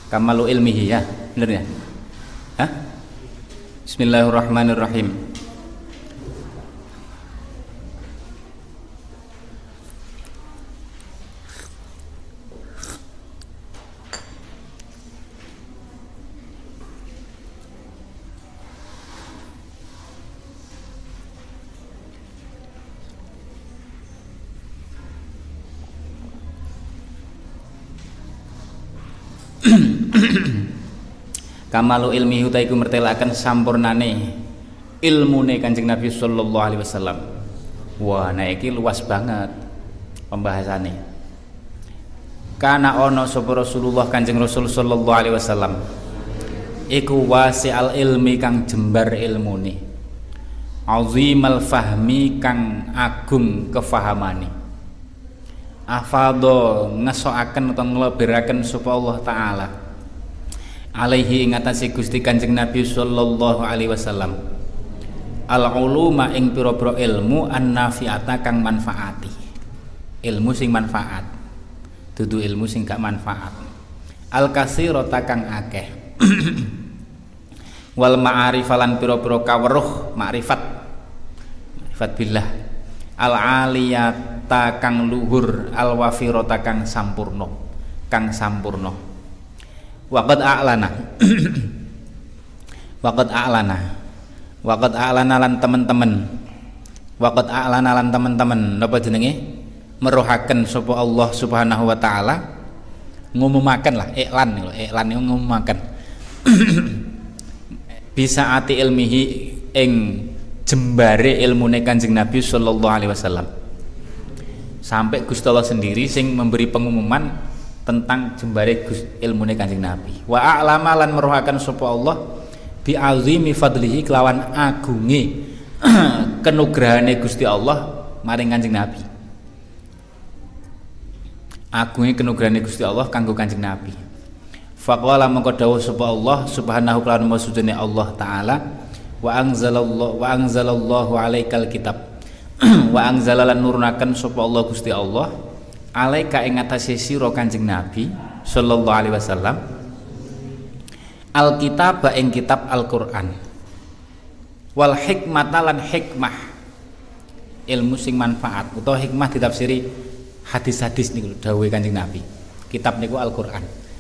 Kamalu ilmihi ya, bener ya? Hah? Bismillahirrahmanirrahim. Kamalu ilmihi uta iku mertelaken sampurnane ilmune Kanjeng Nabi sallallahu alaihi wasallam. Wah, nah iki luas banget pembahasannya. Kana ono sapa Rasulullah Kanjeng Rasul sallallahu alaihi wasallam iku wasi'al ilmi kang jembar ilmune, azimal fahmi kang agung kefahamane, afadho ngesoaken utawa nglebiraken sapa Allah taala alaihi ing atase Gusti Kanjeng Nabi sallallahu alaihi wasallam al uluma ing pira-pira ilmu an-nafi'ata kang manfaati, ilmu sing manfaat, dudu ilmu sing gak manfaat, al katsirata kang akeh wal ma'arifalan pira-pira kaweruh makrifat billah al aliyata kang luhur al wafirata kang sampurna waqad a'lana lan teman-teman napa jenenge meruhaken sapa Allah Subhanahu wa taala, ngumumaken lah, iklan niku ngumumaken bisa ati ilmihi ing jembare ilmune Kanjeng Nabi sallallahu alaihi wasallam. Sampai Gusti Allah sendiri sing memberi pengumuman tentang jembare ilmune Kanjeng Nabi. Wa a'lama lan meruhaken sapa Allah bi azimi fadlihi kelawan agunge kenugrahane Gusti Allah maring Kanjeng Nabi. Agunge kenugrahane Gusti Allah kanggo Kanjeng Nabi. Faqala mengko dawuh sapa Allah subhanahu wa ta'ala maksudane Allah taala wa anzalallahu alaikal kitab wa anzalalan nurunaken sapa Allah Gusti Allah alaika ing atase sira Kanjeng Nabi sallallahu alaihi wasallam alkitab ing kitab Al-Qur'an wal hikmata lan hikmah ilmu sing manfaat utawa hikmah ditafsiri hadis-hadis niku dawuhe Kanjeng Nabi, kitab niku Al-Qur'an.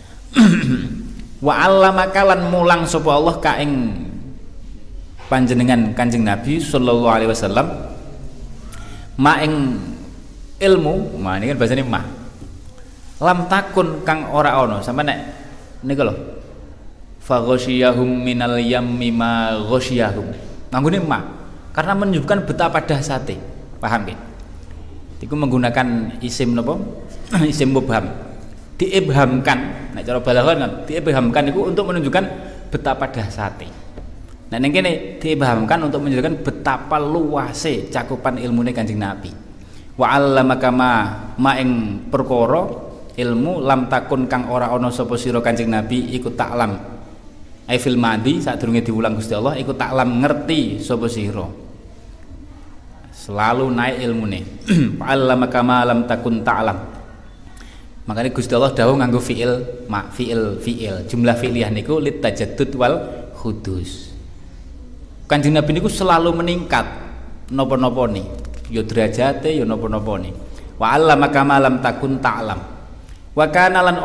Wa 'allamaka lan mulang sapa Allah ka ing panjenengan Kanjeng Nabi sallallahu alaihi wasallam ma ing ilmu, ini kan bahasanya mah lam takun kang ora ono sampe nek niku lho fa ghasyiyahum minal yammi ma ghasyiyahum manggone mah karena menunjukkan betapa dahsyate, paham nggih? Iku menggunakan isim napa? Isim mubham. Diibhamkan, nek cara balaghah kan diibhamkan itu untuk menunjukkan betapa dahsyate. Nah ning kene diibhamkan untuk menunjukkan betapa luase cakupan ilmune Kanjeng Nabi. Wa 'allamaka ma ing perkara ilmu lam takun kang ora ana sapa sira Kanjeng Nabi iku taklam ai fil madi sadurunge diulang Gusti Allah iku taklam ngerti sapa sira, selalu naik ilmune. Wa 'allamaka ma lam takun ta'lam, makanya Gusti Allah dawuh nganggo fiil jumlah fi'liyah niku lit tajaddud wal hudus. Kanjeng Nabi niku selalu meningkat napa-napa nih, ya derajate ya napa-napa ni. Wa 'allamaka ma lam takun ta'lam. Wa kana lan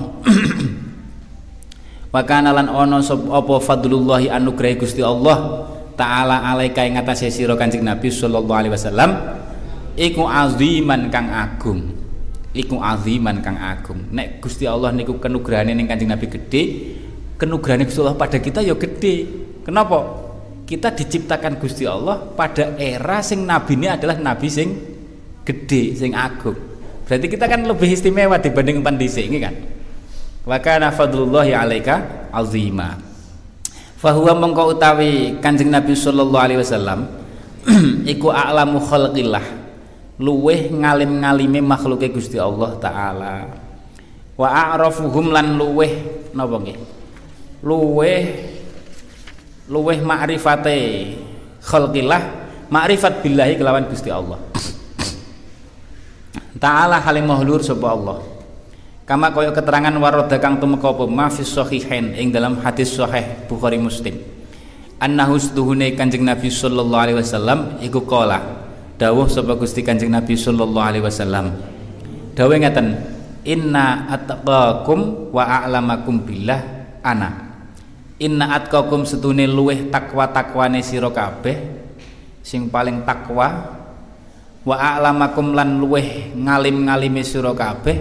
ono apa fadlullahi anugrahi Gusti Allah taala alaika ing atase sira Kanjeng Nabi sallallahu alaihi wasallam iku aziman kang agung. Nek Gusti Allah niku kenugrahane ning Kanjeng Nabi gede, kenugrahane Gusti Allah pada kita ya gede. Kenapa? Kita diciptakan Gusti Allah pada era sing nabine adalah nabi sing gede, sing agung. Berarti kita kan lebih istimewa dibanding pandhisik iki kan. Wa kana fadlullahi alaika azima. Fa huwa mengko utawi Kanjeng Nabi sallallahu alaihi wasallam iku a'lamu khalqillah, luweh ngalim-ngalime makhluke Gusti Allah taala. Wa a'rafuhum lan luweh napa nggih? Luweh ma'rifate khalqillah, ma'rifat billahi kelawan Gusti Allah taala halim mahlur sapa Allah Kama kaya keterangan waroda kang tumeka apa ma fi sahihain ing dalam hadis sahih Bukhari Muslim. Annahu stuhune Kanjeng Nabi sallallahu alaihi wasallam iku qala dawuh sapa Gusti Kanjeng Nabi sallallahu alaihi wasallam. Dawuh ngaten, inna atqakum wa a'lamakum billah ana. Inna atqakum setune luweh takwa-takwane sira kabeh sing paling takwa, wa a'lamakum lan luweh ngalim-ngalime sira kabeh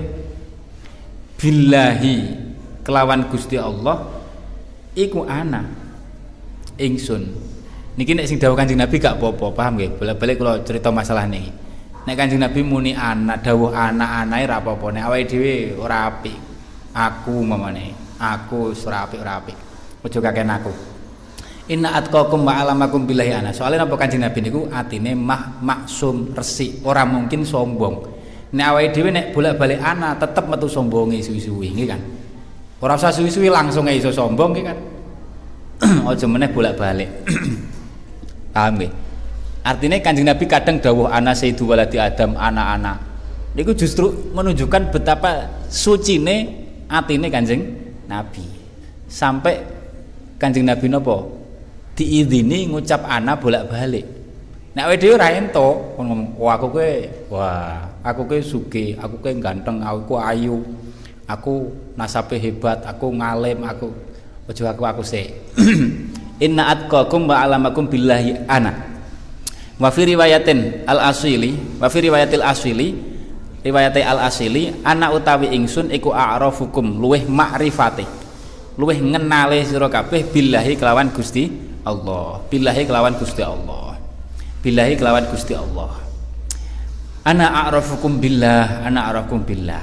billahi kelawan Gusti Allah iku ana ingsun. Niki nek sing dawuh Kanjeng Nabi gak apa-apa, paham nggih? Bolak-balik kula cerita masalah niki. Nek Kanjeng Nabi muni anak, dawuh anak-anake ra apa-apa. Nek awake dhewe ora apik. Aku mamane, aku ora apik. Aja kaken aku. Inna atqakum wa alamakum billahi ana. Soale napa Kanjeng Nabi niku atine maksum resik, ora mungkin sombong. Nek awake dhewe nek bolak-balik ana tetep metu sombonge suwi-suwi nggih kan. Ora usah suwi-suwi langsung iso sombong nggih kan. Aja meneh bolak-balik. Paham nggih? Artinya Kanjeng Nabi kadang dawuh ana sayyidu waladi Adam, anak-anak. Niku justru menunjukkan betapa sucine atine Kanjeng Nabi. Sampai Kanjeng Nabi napa? Diizini ngucap ana bolak-balik. Nek awake dhewe ora ento ngomong, aku kowe sugih, aku kowe ganteng, aku ayu, aku nasabe hebat, aku ngalim, aku aja aku sik. Inna atqakum wa alamakum billahi ana. Wa fi riwayatin al-asili, wa fi riwayatil asili, riwayate al-asili, ana utawi ingsun iku a'rafukum luweh makrifate. Luweh ngenale sira kabeh billahi kelawan Gusti Allah. Billahi kelawan Gusti Allah. Billahi kelawan Gusti Allah. Ana a'rafukum billah, ana a'rafukum billah.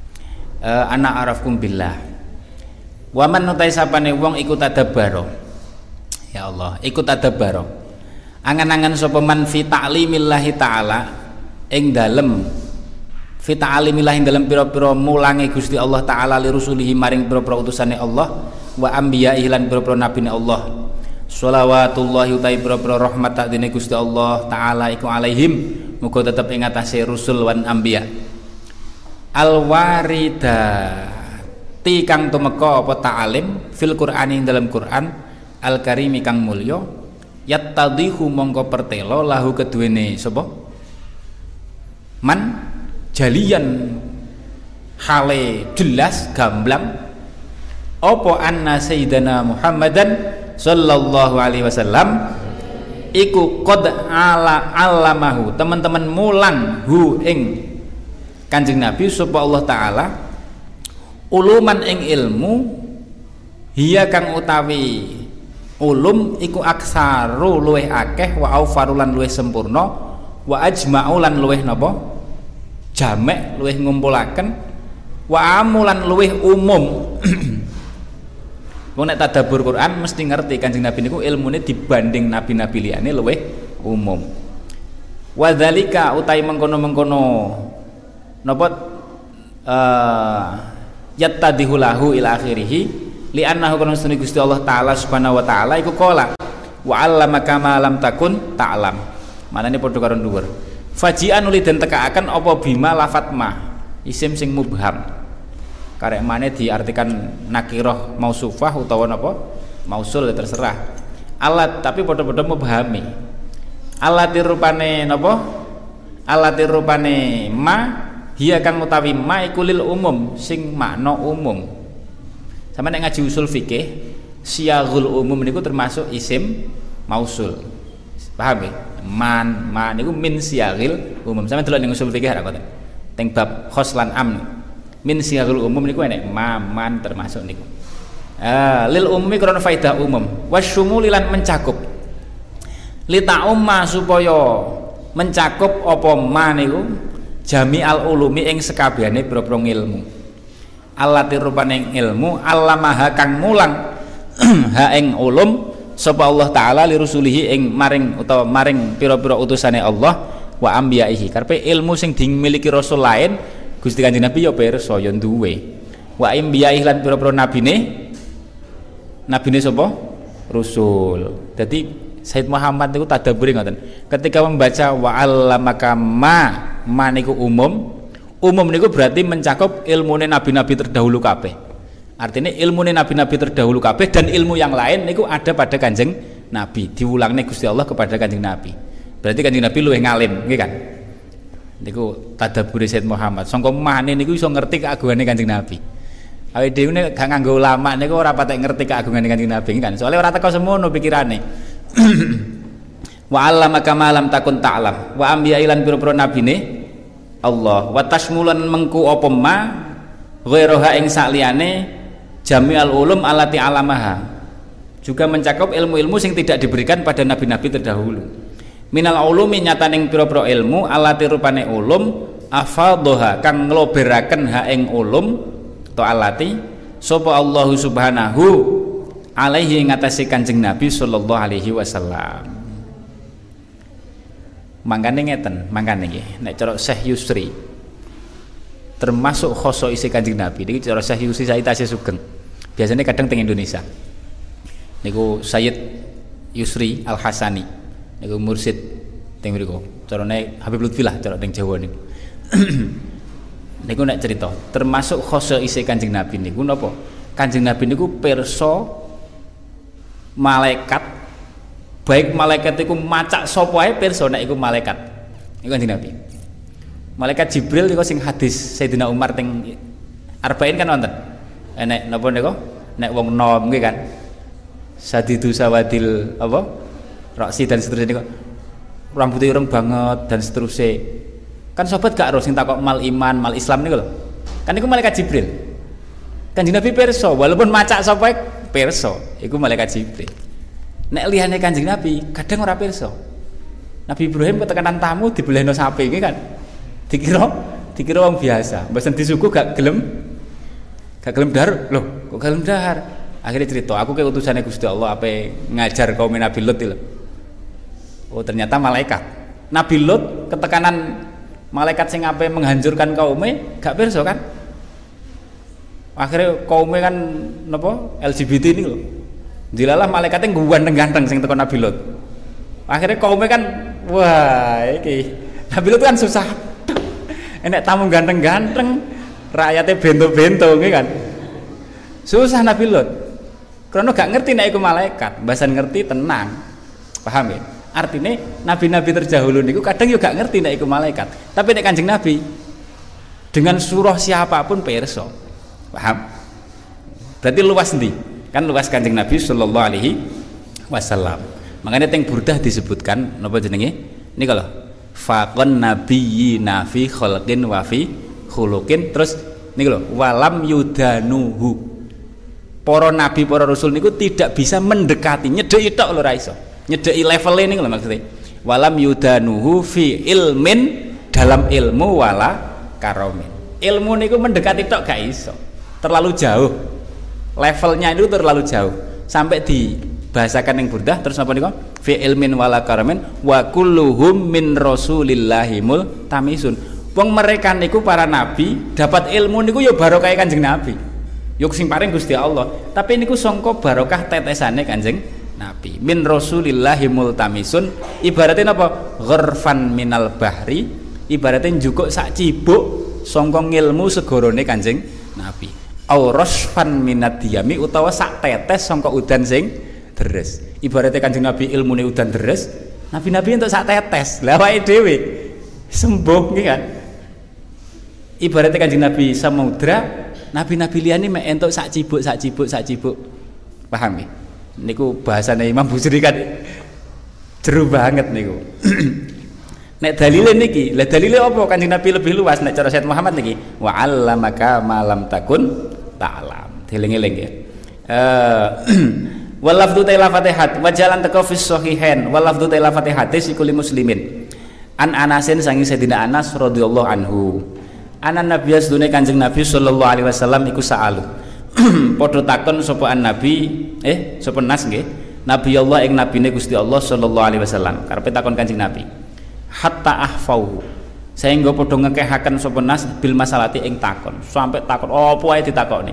Ana a'rafukum billah. Wa man utai sapane wong iku tadabbaro. Ya Allah, iku tadabbaro. Angan-angan sapa man fi ta'limillahi ta'ala ing dalem fi ta'limillahi ing dalem pira-pira mulange Gusti Allah taala li rusulihi maring pira-pira utusane Allah wa anbiya'ihi lan pira-pira nabine Allah. Shalawatullahi utai pira-pira rahmat takdene Gusti Allah taala iku alaihim muga tetep ing atase rusul wan anbiya. Al-warida ti kang tumeka apa ta'alim fil Qur'ani ing dalam Quran al-karimi kang mulya yattadhihu mongko pertelo lahu keduwene sapa man jalian hale jelas gamblang apa anna sayyidana Muhammadan sallallahu alaihi wasallam iku qad alamahu teman-teman mulang hu ing Kanjeng Nabi sapa Allah taala uluman ing ilmu hiya kang utawi ulum iku aksaru luweh akeh wa aufarulan luweh sempurna wa ajma'u lan luweh napa jamek luweh ngumpulaken wa amulan luweh umum. Wong nek tadabbur Quran mesti ngerti Kanjeng Nabi niku ilmune dibanding nabi-nabi liyane luweh umum. Wa dzalika utai mengkono-mengkono napa yattadihu lahu ila akhirih li annahu kana sunni Gusti Allah taala subhanahu wa taala iku qala wa 'allamaka ma lam takun ta'lam. Manane padha karo dhuwur. Faji'an uli den tekaaken apa bima lafat ma isim sing mubham. Karek mane diartikan nakirah mausufah utawa napa mausul terserah. Alat tapi padha-padha mubhami. Alatir rupane napa? Alatir rupane ma hiya kang utawi ma iku lil umum sing makna umum. Sama nek ngaji usul fikih, siyaghul umum niku termasuk isim mausul. Paham ya? Man niku min siyaghil umum. Sama delok ning usul fikih ra kok. Teng bab khos lan am. Min siyaghul umum niku enek man termasuk niku. Lil umumi krana faedah umum. Wasyumulilan mencakup. Li ta'umma supaya mencakup apa ma niku jami'al ulumi ing sekabehane boro-boro ilmu. Allati rupane ilmu allamaha kang mulang ha ing ulum sapa Allah taala li rusulihi ing maring utawa maring pira-pira utusane Allah wa anbiya'ihi. Karepe ilmu sing dimiliki rasul lain Gusti Kanjeng Nabi ya pirsa ya duwe. Wa anbiya'ihi lan pira-pira nabine sapa? Rasul. Jadi Said Muhammad niku tadabburi ngoten. Ketika membaca wa allamaka ma niku umum, Umum niku berarti mencakup ilmune nabi-nabi terdahulu kabeh. Artinya ilmune nabi-nabi terdahulu kabeh dan ilmu yang lain niku ada pada Kanjeng Nabi. Diulangne Gusti Allah kepada Kanjeng Nabi. Berarti Kanjeng Nabi luwih ngalim, nggih kan? Niku tadabbure Sayyid Muhammad. Sangka mane niku iso ngerti keagungane Kanjeng Nabi. Awake dhewe nek gak nganggo ulama niku ora patek ngerti keagungane Kanjeng Nabi kan. Soalnya ora teko semono pikirane. Wa 'allamaka ma lam takun ta'lam. Wa anbiya ilan pira-pira nabine Allah. Wa tashmulan mengku apa ma ghairaha ing sakliyane jami'al ulum allati 'alamaha. Juga mencakup ilmu-ilmu yang tidak diberikan pada nabi-nabi terdahulu. Minal ulumi nyataning pira-pira ilmu allati rupane ulum afadhaha kang ngloberaken ha ing ulum to alati sapa Allah subhanahu alaihi ngatasi Kanjeng Nabi sallallahu alaihi wasallam. Mangkane ngeten, mangkane nggih nek cara Syekh Yusri termasuk khoso isi Kanjeng Nabi niki cara Syekh Yusri Said Tasih Sugeng. Biasanya kadang teng Indonesia. Niku Sayyid Yusri Al Hasani niku mursid teng mriku. Carane Habib Lutfi lah cara teng Jawa niku. Niku nek cerita termasuk khoso isi Kanjeng Nabi niku napa? Kanjeng Nabi niku pirsa malaikat baik malaikat iku macak sapa ae pirsa nek iku malaikat. Iku Kanjeng Nabi. Malaikat Jibril niku sing hadis Sayyidina Umar teng Arba'in kan wonten. Nek napa niku? Nek wong nom nggih kan. Sadidu sawadil apa? Raksi dan seterusnya niku. Rambutnya ireng banget dan seterusnya. Kan sobat gak harus sing takok mal iman, mal Islam niku lho. Kan niku malaikat Jibril. Kanjeng Nabi pirsa walaupun macak sapa pirsa, iku malaikat Jibril. Nek liyane Kanjeng Nabi kadang ora pirsa. Nabi Ibrahim ketekanan tamu dibelehno sapi iki kan. Dikira wong biasa. Mbesen disuguh gak gelem dahar. Loh, kok gelem dahar? Akhirnya cerita, aku ke utusannya Gusti Allah apa ngajar kaum Nabi Lut itu. Oh, ternyata malaikat. Nabi Lut ketekanan malaikat sing ape menghancurkan kaumnya gak pirsa kan? Akhirnya kaumnya kan napa LGBT ini loh. Dilalah malaikatnya ganteng-ganteng sing teko Nabi Lut. Akhirnya kaumnya kan wah iki Nabi Lut kan susah. Enek tamu ganteng-ganteng, rakyatnya bento-bento nggih kan. Susah Nabi Lut. Karena gak ngerti nek iku malaikat, mbasan ngerti tenang. Paham ya? Artinya nabi-nabi terdahulu niku kadang yo gak ngerti nek iku malaikat. Tapi nek Kanjeng Nabi dengan surah siapapun pirsa. Paham? Berarti luas ndi? Kan luas Kanjeng Nabi sallallahu alaihi wasallam. Makanya teng Burdah disebutkan napa jenenge? Niku lho. Faqan nabiyyina fi khalqin wa fi khuluqin. Terus niku lho, walam yudanuhu. Para nabi, para rasul niku tidak bisa mendekati, nyedeki tok lho ra iso. Nyedeki level niku lho maksudnya. Walam yudanuhu fi ilmin, dalam ilmu wala karomin. Ilmu niku mendekati tok gak iso. Terlalu jauh. Levelnya itu terlalu jauh. Sampai dibahasakan yang Burdah terus apa niku? Fi ilmin wala karomin wa kulluhum min rasulillahimul tamisun. Wong mereka niku para nabi dapat ilmu niku ya barokah Kanjeng Nabi. Yuk sing paring Gusti Allah. Tapi niku sangka barokah tetesane Kanjeng Nabi. Min rasulillahi multamisun ibaratnya apa? Ghurfan minal bahri, ibaratnya njukuk sak cibuk sangka ngilmu segorone Kanjeng Nabi. Au rasfan minad diyami utawa sak tetes sangka udan sing deres. Ibaratnya Kanjeng Nabi ilmune udan deres, nabi-nabi entuk sak tetes. Lah awake dhewe sembuh nggih kan. Ibaratnya Kanjeng Nabi samudra, nabi-nabi liyane mek entuk sak cibuk. Paham ya? Niku bahasane Imam Busiri kan jeru banget niku. Nek dalile niki, lah dalile apa Kanjeng Nabi lebih luas nek cara Sayyid Muhammad niki? Wa 'allamaka ma lam takun ta'lam. Dieling-eling ya. Wal lafdhu ta'ala Fatihah wa jalan teko fi sahihain wal lafdhu ta'ala Fatihah sikuli muslimin. An Anasin sangi Sayyidina Anas radhiyallahu anhu. Anan Nabi asdune Kanjeng Nabi sallallahu alaihi wasallam iku sa'alu. Padha takon sapa Nabi, sapa Nas nggih. Nabi Allah ing nabine Gusti Allah sallallahu alaihi wasallam. Karepe takon Kanjeng Nabi. Hatta ahfau. Sehingga padha ngekehaken sapa Nas bil masalati ing takon. Sampai takon apa ae ditakoni.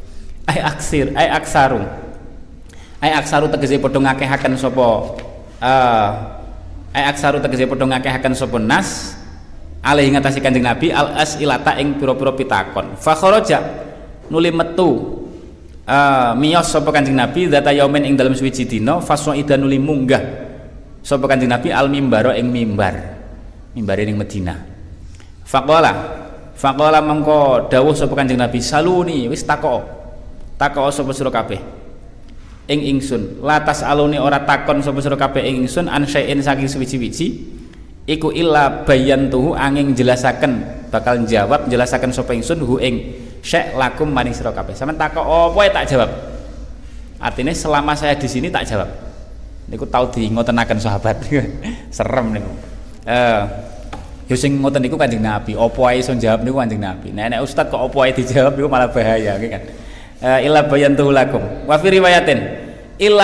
Aksaru tegese padha ngakehaken sapa aksaru tegese padha ngakehaken sapa Nas alaihi ngatasi Kanjeng Nabi al asilata ing pira-pira pitakon. Fa kharaja nuli metu miyos sapa Kanjeng Nabi dzata yaumin ing dalem suwiji dina fasoida nuli munggah sapa Kanjeng Nabi al mimbara ing mimbare ning Madinah. Faqala mengko dawuh sapa Kanjeng Nabi saluni wis takok sapa sira kabeh ing ingsun latas aluni ora takon sapa sira kabeh ing ingsun an syai'in saking suwiji-wiji iku illa bayantuhu angin jelasaken bakal jawab jelasaken sapa ingsun hu ing syai' lakum maring sira kabeh. Sampeyan takok apa tak jawab. Artinya selama saya di sini tak jawab. Niku tau dingotenaken sahabat. Serem niku. Ya sing ngoten niku Kanjeng Nabi, apa ae iso jawab niku Kanjeng Nabi. Nek ustaz kok apa ae dijawab niku malah bahaya nggih kan. Illa bayantuhu lakum. Wa fi riwayatin illa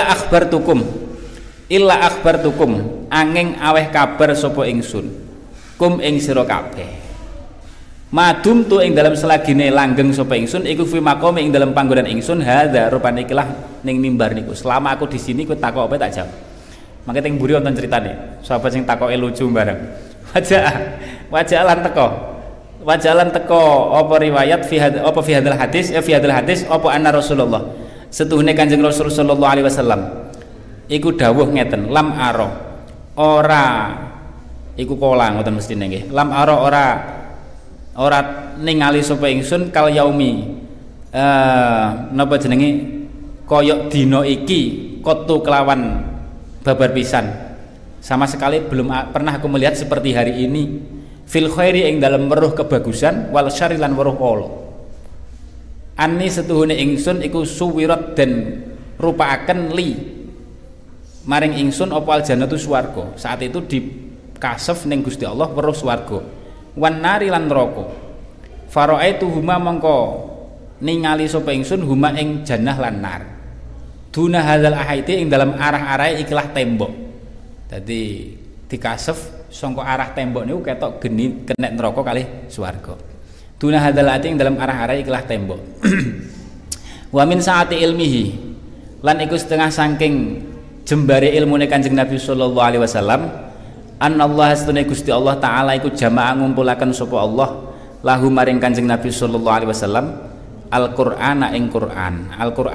akhbartukum angin aweh kabar sapa ingsun kum ing sira kabeh. Madum tu ing dalam selagine langgeng sapa ingsun iku fi maqami ing dalam panggonan ingsun hadza rupane ikilah ning mimbar niku. Selama aku di sini kowe takok apa tak jawab. Mangke teng mburi wonten critane. Sahabat sing takoke lucu bareng. Wajalan teko apa riwayat fi hadal hadis apa anna Rasulullah setuhune Kanjeng Rasul sallallahu alaihi wasallam iku dawuh ngeten lam aro ora iku kala ngoten mestine nggih lam aro ora ningali sapa ingsun kal yaumi napa jenenge kaya dina iki kotu kelawan babar pisan sama sekali belum pernah aku melihat seperti hari ini fil khairi ing dalam weruh kebagusan wal syarri lan weruh ala anni setuhune ingsun iku suwirat dan rupaaken li maring ingsun apa aljannatu swarga. Saat itu di kasef ning Gusti Allah weruh swarga wan nari lan neraka faraaitu huma mongko ningali sapa ingsun huma ing jannah lan nar duna hadzal ahaiti ing dalam arah-arahe ikilah tembok. Jadi dikasef sangka arah tembok niku ketok geni kenek neraka kalih swarga. Duna hadalati ing dalam arah-arah ikilah tembok. Wa min saati ilmihi lan iku setengah saking jembare ilmune Kanjeng Nabi sallallahu alaihi wasallam anallah astune Gusti Allah taala iku jamaah ngumpulaken sapa Allah lahu maring Kanjeng Nabi sallallahu alaihi wasallam Al-Qur'ana ing Qur'an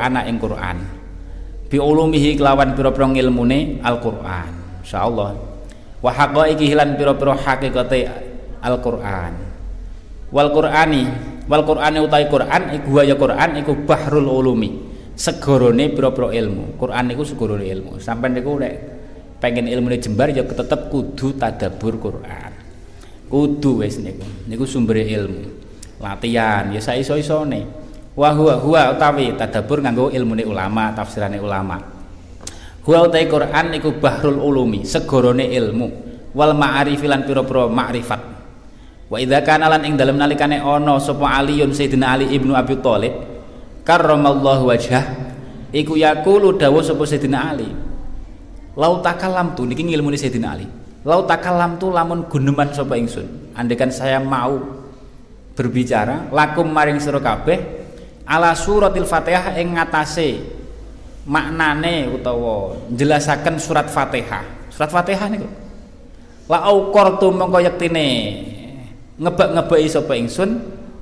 bi ulumihi kelawan pira-pira ilmune Al-Qur'an insyaallah wa haqaiqi lan pira-pira hakikate Al-Qur'an wal Qur'ani utai Qur'an iku ya Qur'an iku bahrul ulumi segorone pira-pira ilmu. Qur'an niku segorone ilmu. Sampeyan niku nek pengen ilmune jembar ya tetep kudu tadabbur Qur'an. Kudu wis niku sumbere ilmu. Latihan ya saiso-isone. Wa huwa utawi tadabbur nganggo ilmune ulama, tafsirane ulama. Huwa utai Qur'an iku bahrul ulumi, segorone ilmu. Wal ma'arif lan pira-pira ma'rifat. Wa idza kana lan ing dalem nalikane ana sapa Aliun Sayyidina Ali ibnu Abi Thalib karramallahu wajhah iku yaqulu dawuh sapa Sayyidina Ali lau takallam tu niki ilmune Sayyidina Ali lau takallam tu lamun guneman sapa ingsun andekan saya mau berbicara lakum maring sira kabeh ala suratil Fatihah ing ngatasé maknane utawa njelasaken surat Fatihah niku la auqartu mongko yektine ngebak-ngebaki sapa ingsun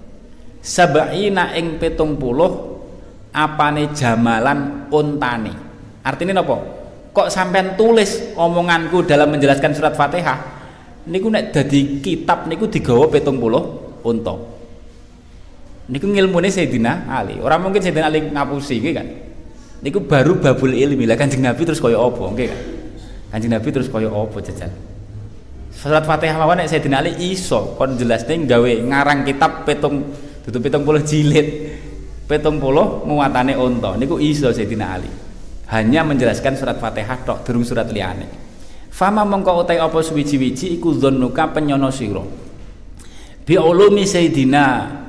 sabaina ing 70 apane jamalan untane. Artinya napa? Kok sampean tulis omonganku dalam menjelaskan surat Fatihah niku nek dadi kitab niku digawa 70 unta. Niku ngilmune Sayyidina Ali. Ora mungkin Sayyidina Ali ngapusi nggih kan. Niku baru babul ilmi. Lah Kanjeng Nabi terus kaya apa nggih kan. Kanjeng Nabi terus kaya apa jajal. Surat Fatihah mawon nek Sayyidina Ali iso kon jelasne gawe ngarang kitab 70 jilid 70 muatane unta niku iso Sayyidina Ali hanya menjelaskan surat Fatihah tok durung surat liyane. Fama mongko utai apa suwiji-wiji iku dzannuka penyono sira bi ulumi Sayyidina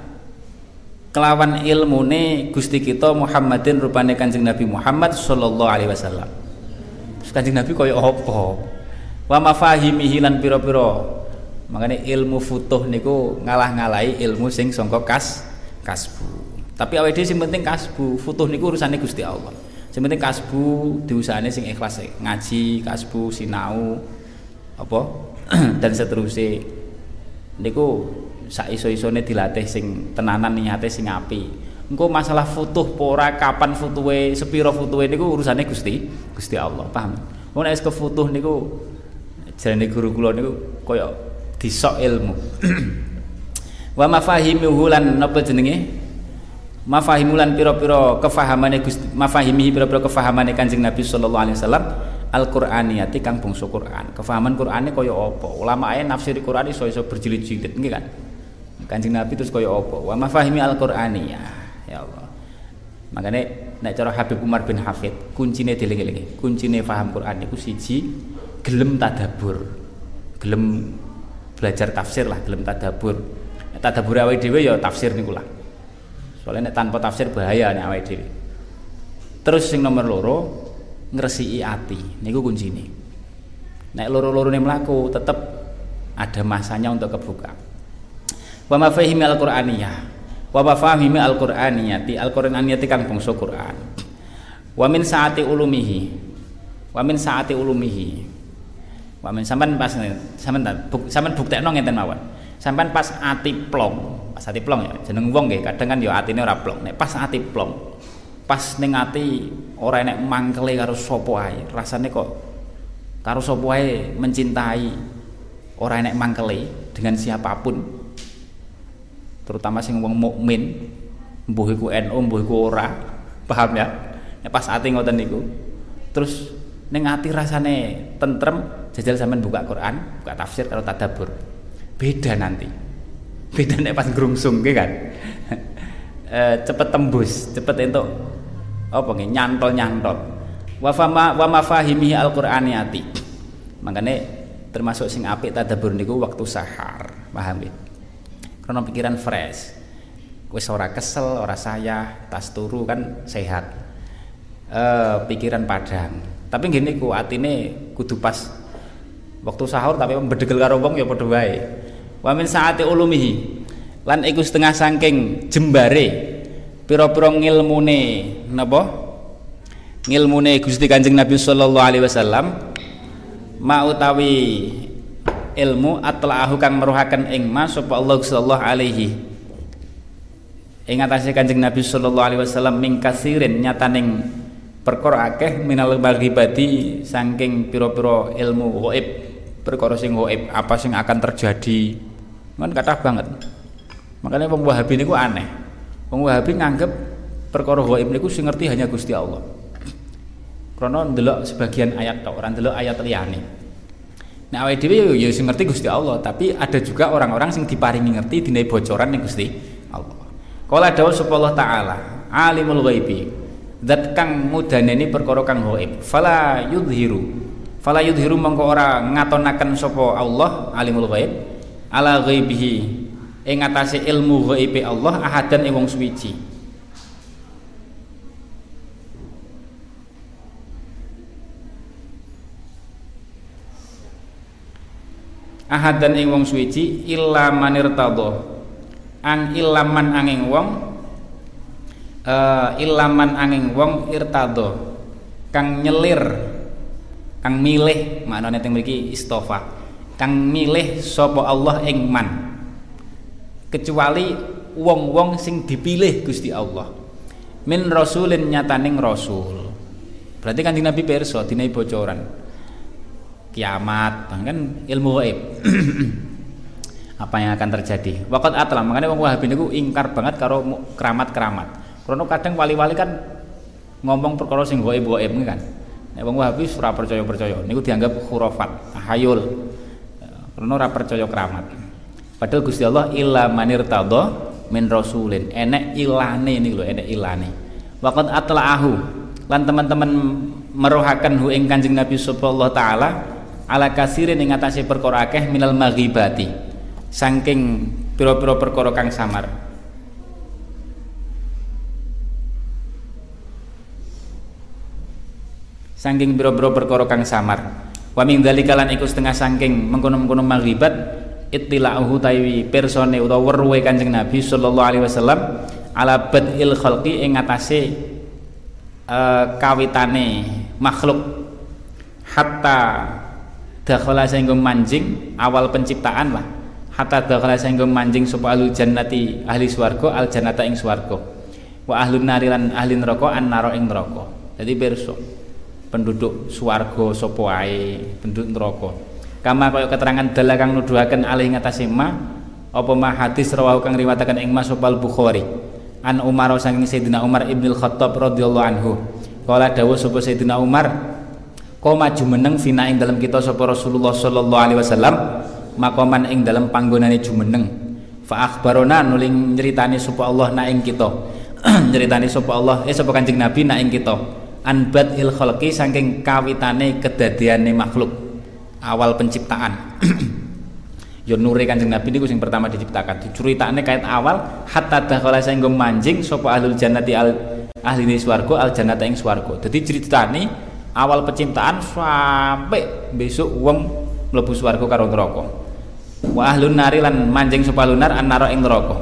kelawan ilmune Gusti kita Muhammadin rupane Kanjeng Nabi Muhammad sallallahu alaihi wasallam. Kanjeng Nabi kaya apa? Wa mafahimihi lan pira-pira makanya ilmu futuh niku ngalah-ngalahi ilmu sing sangka kasbu. Tapi awake dhewe sing penting kasbu, futuh niku urusane Gusti Allah. Sing penting kasbu diusahane sing ikhlas ngaji, kasbu sinau apa dan seterusnya. niku sak iso-isone dilatih sing tenanan niate sing apik. Engko masalah futuh pora kapan futuhe sepiro futuhe niku urusane Gusti Allah, paham? Wong nek wis kefutuh niku jarane guru kula niku kaya disok ilmu. Wa mafahimuhu lan napa jenenge? Mafahimulan pira-pira kefahamane Gusti mafahimihi pira-pira kefahamane Kanjeng Nabi sallallahu alaihi wasallam Al-Qur'aniyati kang bangsa Qur'an. Kefahaman Qur'ane kaya apa? Ulama ae nafsiri Qur'an iso berjilid-jilid nggih kan. Kanjeng Nabi terus kaya apa? Wa mafahimi Al-Qur'aniyah. Ya Allah. Makanya nek cara Habib Umar bin Hafid, kuncine dieling-elingi. Kuncine paham Quran niku siji, gelem tadabbur. Gelem belajar tafsir lah, gelem tadabbur. Nek tadabbur awake dhewe ya tafsir niku lah. Soalnya nek tanpa tafsir bahaya nek awake dhewe. Terus sing nomor loro, ngresiki ati. Niku kuncine. Nek loro-lorone mlaku tetep ada masanya untuk kebuka. Wa mafahimi al-Qur'aniyah. Wa mafahimi al-Qur'aniyati al-Qur'aniyati kang bangsa Qur'an. Wa min saati ulumihi. Wa min saati ulumihi. Wa min sampean pas sampean buktekno ngenten mawon. Sampean pas ati plong ya jeneng wong nggih kadang kan ya atine ora plong. Nek pas ati plong, pas ning ati ora enek mangkele karo sapa ae. Rasane kok karo sapa ae mencintai ora enek mangkele dengan siapapun. Terutama sing wong mukmin, mbuh iku NU, mbuh iku ora, paham ya? Nek pas ati ngoten niku. Terus ning ati rasane tentrem, jajal sampean buka Quran, buka tafsir karo tadabbur. Beda nanti. Beda nek pas grungsung nggih kan. Cepet tembus, cepet entuk apa nggih nyantol-nyantol. Wa mafahimi al-Qur'aniyati. Makane termasuk sing apik tadabbur niku waktu sahar, paham nggih? Karena pikiran fresh, wis ora kesel, ora sayah, tas turu kan sehat, pikiran padang. Tapi gini ku atine kudu pas waktu sahur tapi bedegel karo wong ya padha wae. Wa min saati ulumihi lan iku setengah saking jembare pira-pira ngilmune napa? Ngilmune Gusti Kanjeng Nabi sallallahu alaihi wasallam ma utawi ilmu atla'ahu kang meruhaken ing mas sapa Allah sallallahu alaihi ing atase Kanjeng Nabi sallallahu alaihi wasallam ming kasirin nyataning perkara akeh minal maghibati saking pira-pira ilmu ghaib, perkara sing ghaib apa sing akan terjadi kan kathah banget. Makanya wong Wahabi niku aneh. Wong Wahabi nganggep perkara ghaib niku sing ngerti hanya Gusti Allah. Karena ndelok sebagian ayat tok, ora ndelok ayat liyane. Nah awake dhewe ya sing ngerti Gusti Allah, tapi ada juga orang-orang sing diparingi ngerti dine bocoran ning Gusti Allah. Qala dawuh sapa Allah taala, alimul ghaibi. Zat kang mudaneni perkara kang ghaib. Fala yudhiru mongko ora ngatonaken sapa Allah alimul ghaib ala ghaibihi ing atase ilmu ghaibe Allah ahadan ing wong suwiji. Ahadan ing wong suwiji illa manirtadha ang ilaman angin wong irtadha kang nyelir kang milih maknane teng mriki istofa kang milih sapa Allah ing man kecuali wong-wong sing dipilih Gusti Allah min rasulin nyataning rasul. Berarti Kanjeng Nabi pirsa dina bocoran kiamat, bahkan ilmu gaib apa yang akan terjadi. Waqat atlam, makanya wong Wahabi niku ingkar banget karo keramat-keramat. Karena kadang wali-wali kan ngomong perkara sing gaib-gaib kan. Nek wong Wahabi ora percaya-percaya, niku dianggap khurafat, tahayul. Karena ora percaya keramat. Padahal Gusti Allah illa manirtadha min rasulin. Enek ilane niku lho, enek ilane. Waqat atlaahu lan teman-teman merohaken hu ing Kanjeng Nabi sallallahu taala ala kasirin ing atase perkara akeh minal maghibati saking pira-pira perkara kang samar. Saking pira-pira perkara kang samar. Wa min dzalika lan iku setengah saking mengkono-mengkono maghibat ittila'uhu taiwi persone utawa weruhe Kanjeng Nabi sallallahu alaihi wasallam ala badil khalqi ing atase kawitane makhluk hatta dakhala sehingga manjing awal penciptaan lah hatta dakhala sehingga manjing sapa ahlul jannati ahli swarga al jannata ing swarga wa ahlun nari lan ahli neraka annara ing neraka. Dadi pirsa penduduk swarga sapa wae penduduk neraka kama kaya keterangan dalah kang nuduhaken alih ngatasé ma apa ma hadis rawahu kang riwayataken ing Mas Sopal Bukhari an Umar saking Sayyidina Umar Ibnul Khattab radhiyallahu anhu kala dawuh sapa Sayyidina Umar koma jumeneng fina ing dalam kita sapa Rasulullah sallallahu alaihi wasallam makoman ing dalam panggonane jumeneng fa akhbarona nuling nyritani sapa Allah na ing kita nyritani sapa Allah sapa Kanjeng Nabi na ing kita anbat il khalqi saking kawitane kedadiane makhluk awal penciptaan. Ya nure Kanjeng Nabi niku sing pertama diciptakan diceritakne kait awal hatta dakhala sehingga manjing sapa ahlul jannati ahli swarga al jannata ing swarga. Dadi ceritane awal penciptaan sampai besok wong mlebu swarga karo neraka. Wa ahlun nari lan manjing sapa ahlun nar annara ing neraka.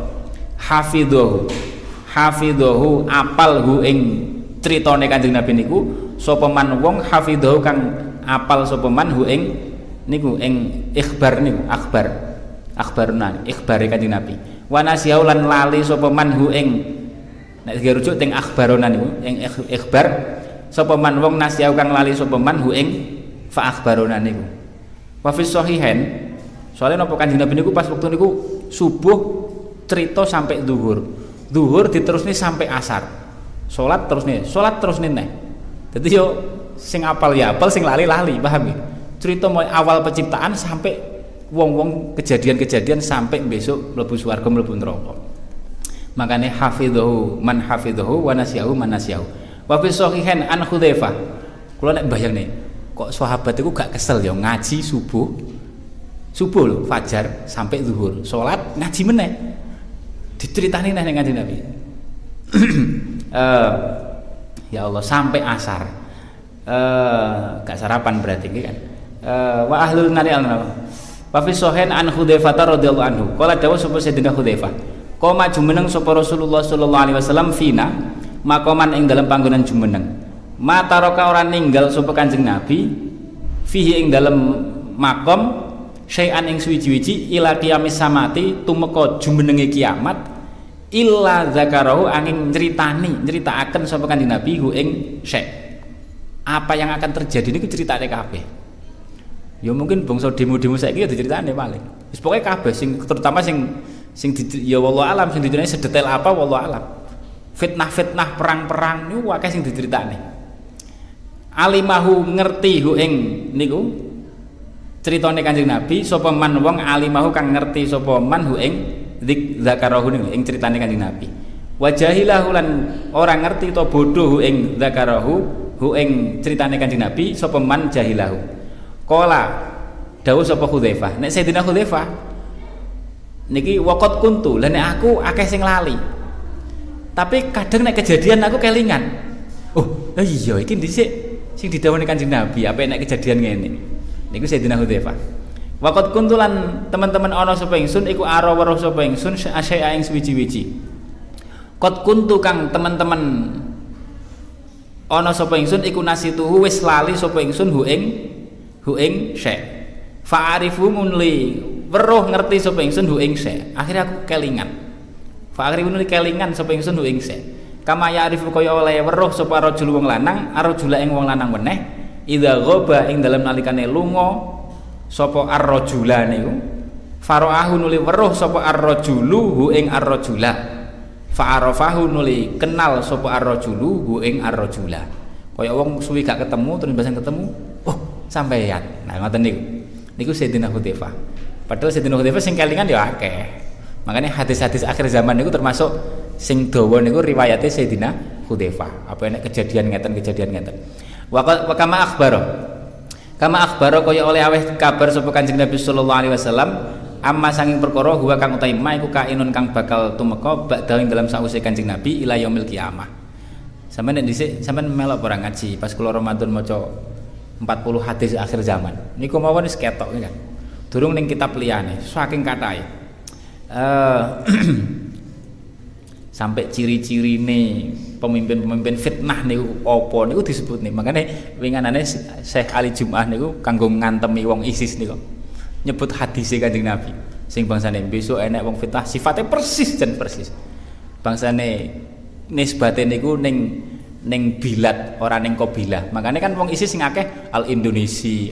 Hafidhahu apal hu ing critane Kanjeng Nabi niku sapa man wong hafidhahu kang apal sapa man hu ing niku ing ikhbar niku akhbaruna ikhbare Kanjeng Nabi. Wa nasiau lan lali sapa man hu ing nek dirujuk teng akhbaruna niku ing ikhbar sapa man wong nasiau kang lali sapa man hu ing fa akhbaruna niku. Wa fi sahihain soalnya napa Kanjeng Nabi niku pas waktu niku subuh cerita sampai zuhur diterusne sampai asar. Salat terus nih neh. Dadi yo sing apal ya apal, sing lali paham ya? Cerita mulai awal penciptaan sampai wong-wong kejadian-kejadian sampai besok mlebu swarga mlebu neraka. Makane hafidhahu man hafidhahu wa nasiyahu man nasiyahu. Wa fi sahihain an Hudzaifah. Kula nek bayangne kok sahabat iku gak kesel ya ngaji subuh lho fajar sampai zuhur. Salat ngaji meneh. Diceritani neh ning Kanjeng Nabi. Ya Allah sampai asar. Gak sarapan berarti kan. Wa ahlul nari al-nar. Wa fi sahihain an Hudzaifah radhiyallahu anhu. Qala dawuh sapa Sayyidina Hudzaifah. Qoma jumeneng sapa Rasulullah sallallahu alaihi wasallam fina makoman ing dalam panggonan jumeneng. Mataraka ora ninggal sapa Kanjeng Nabi fihi ing dalam makom syai'an ing suwiji-wiji ila qiyamis samati tumeka jumenenge kiamat illa zakarahu angin nyeritakaken sapa Kanjeng Nabi hu ing syai'. Apa yang akan terjadi niku ceritane kabeh. Ya mungkin bangsa demo-demo saiki ya diceritane paling. Wis pokoke kabeh sing terutama sing ya wallahu alam sing diceritani sedetail apa wallahu alam. Fitnah-fitnah perang-perang niku akeh sing diceritane. Alimahu ngerti hu ing niku ceritane Kanjeng Nabi sapa man wong alimahu kang ngerti sapa man hu ing zakarahu ing ceritane Kanjeng Nabi. Wa jahilahu lan ora ngerti to bodoh hu ing zakarahu hu ing ceritane Kanjeng Nabi sapa man jahilahu. Qala dawuh sapa Hudzaifah nek Sayyidina Hudzaifah niki waqat kuntu lan nek aku akeh sing lali. Tapi kadang nek kejadian aku kelingan. Oh, iya iki dhisik sing didhawuhi Kanjeng Nabi apa nek kejadian ngene. Niku Sayyidina Hudzaifah. Waqat kuntulan teman-teman ana sapa ingsun iku ara weruh sapa ingsun asya ing suwiji-wiji. Qad kuntu kang teman-teman ana sapa ingsun iku nasituhu wis lali sapa ingsun hu ing syai'. Fa'arifu munli weruh ngerti sapa ingsun hu ing syai'. Akhire aku kelingan. Fa'arifu munli kelingan sapa ingsun hu ing syai'. Kama ya'rifu kaya oleh weruh sapa rajul wong lanang arjula ing wong lanang meneh idza ghaba ing dalem nalikane lunga sapa ar-rajula niku faraahu nuli weruh sapa ar-rajulu hu ing ar-rajula fa'arafahu nuli kenal sapa ar-rajulu hu ing ar-rajula kaya wong suwi gak ketemu terus basang ketemu oh sampeyan nah ngoten niku Sayyidina Hudzaifah padahal Sayyidina Hudzaifah sing kelingan ya akeh makanya hadis-hadis akhir zaman niku termasuk sing dawa niku riwayate Sayyidina Hudzaifah apa enek kejadian ngeten wa kama akhbaro kaya oleh aweh kabar sapa Kanjeng Nabi sallallahu alaihi wasallam amma sanging perkara huwa kang utahe ma iku kainun kang bakal tumeka ba'da ing dalam sause Kanjeng Nabi ila yaumil kiamah. Sampeyan nek dhisik sampeyan melok ora ngaji pas kula Ramadan maca 40 hadis akhir zaman. Niku mawon wis ketok kan. Durung ning kitab liyane saking kathahe. Sampai ciri-cirine pemimpin-pemimpin fitnah niku apa niku disebut nih. Makanya winganane Syekh Ali Jum'ah niku kanggo ngantemi wong ISIS niku. Nyebut hadis Kanjeng Nabi. Sing bangsane besok enek wong fitnah sifatnya persis dan persis. Bangsane nisbate niku ning bilat ora ning qabilah. Makanya kan wong ISIS sing akeh al Indonesia,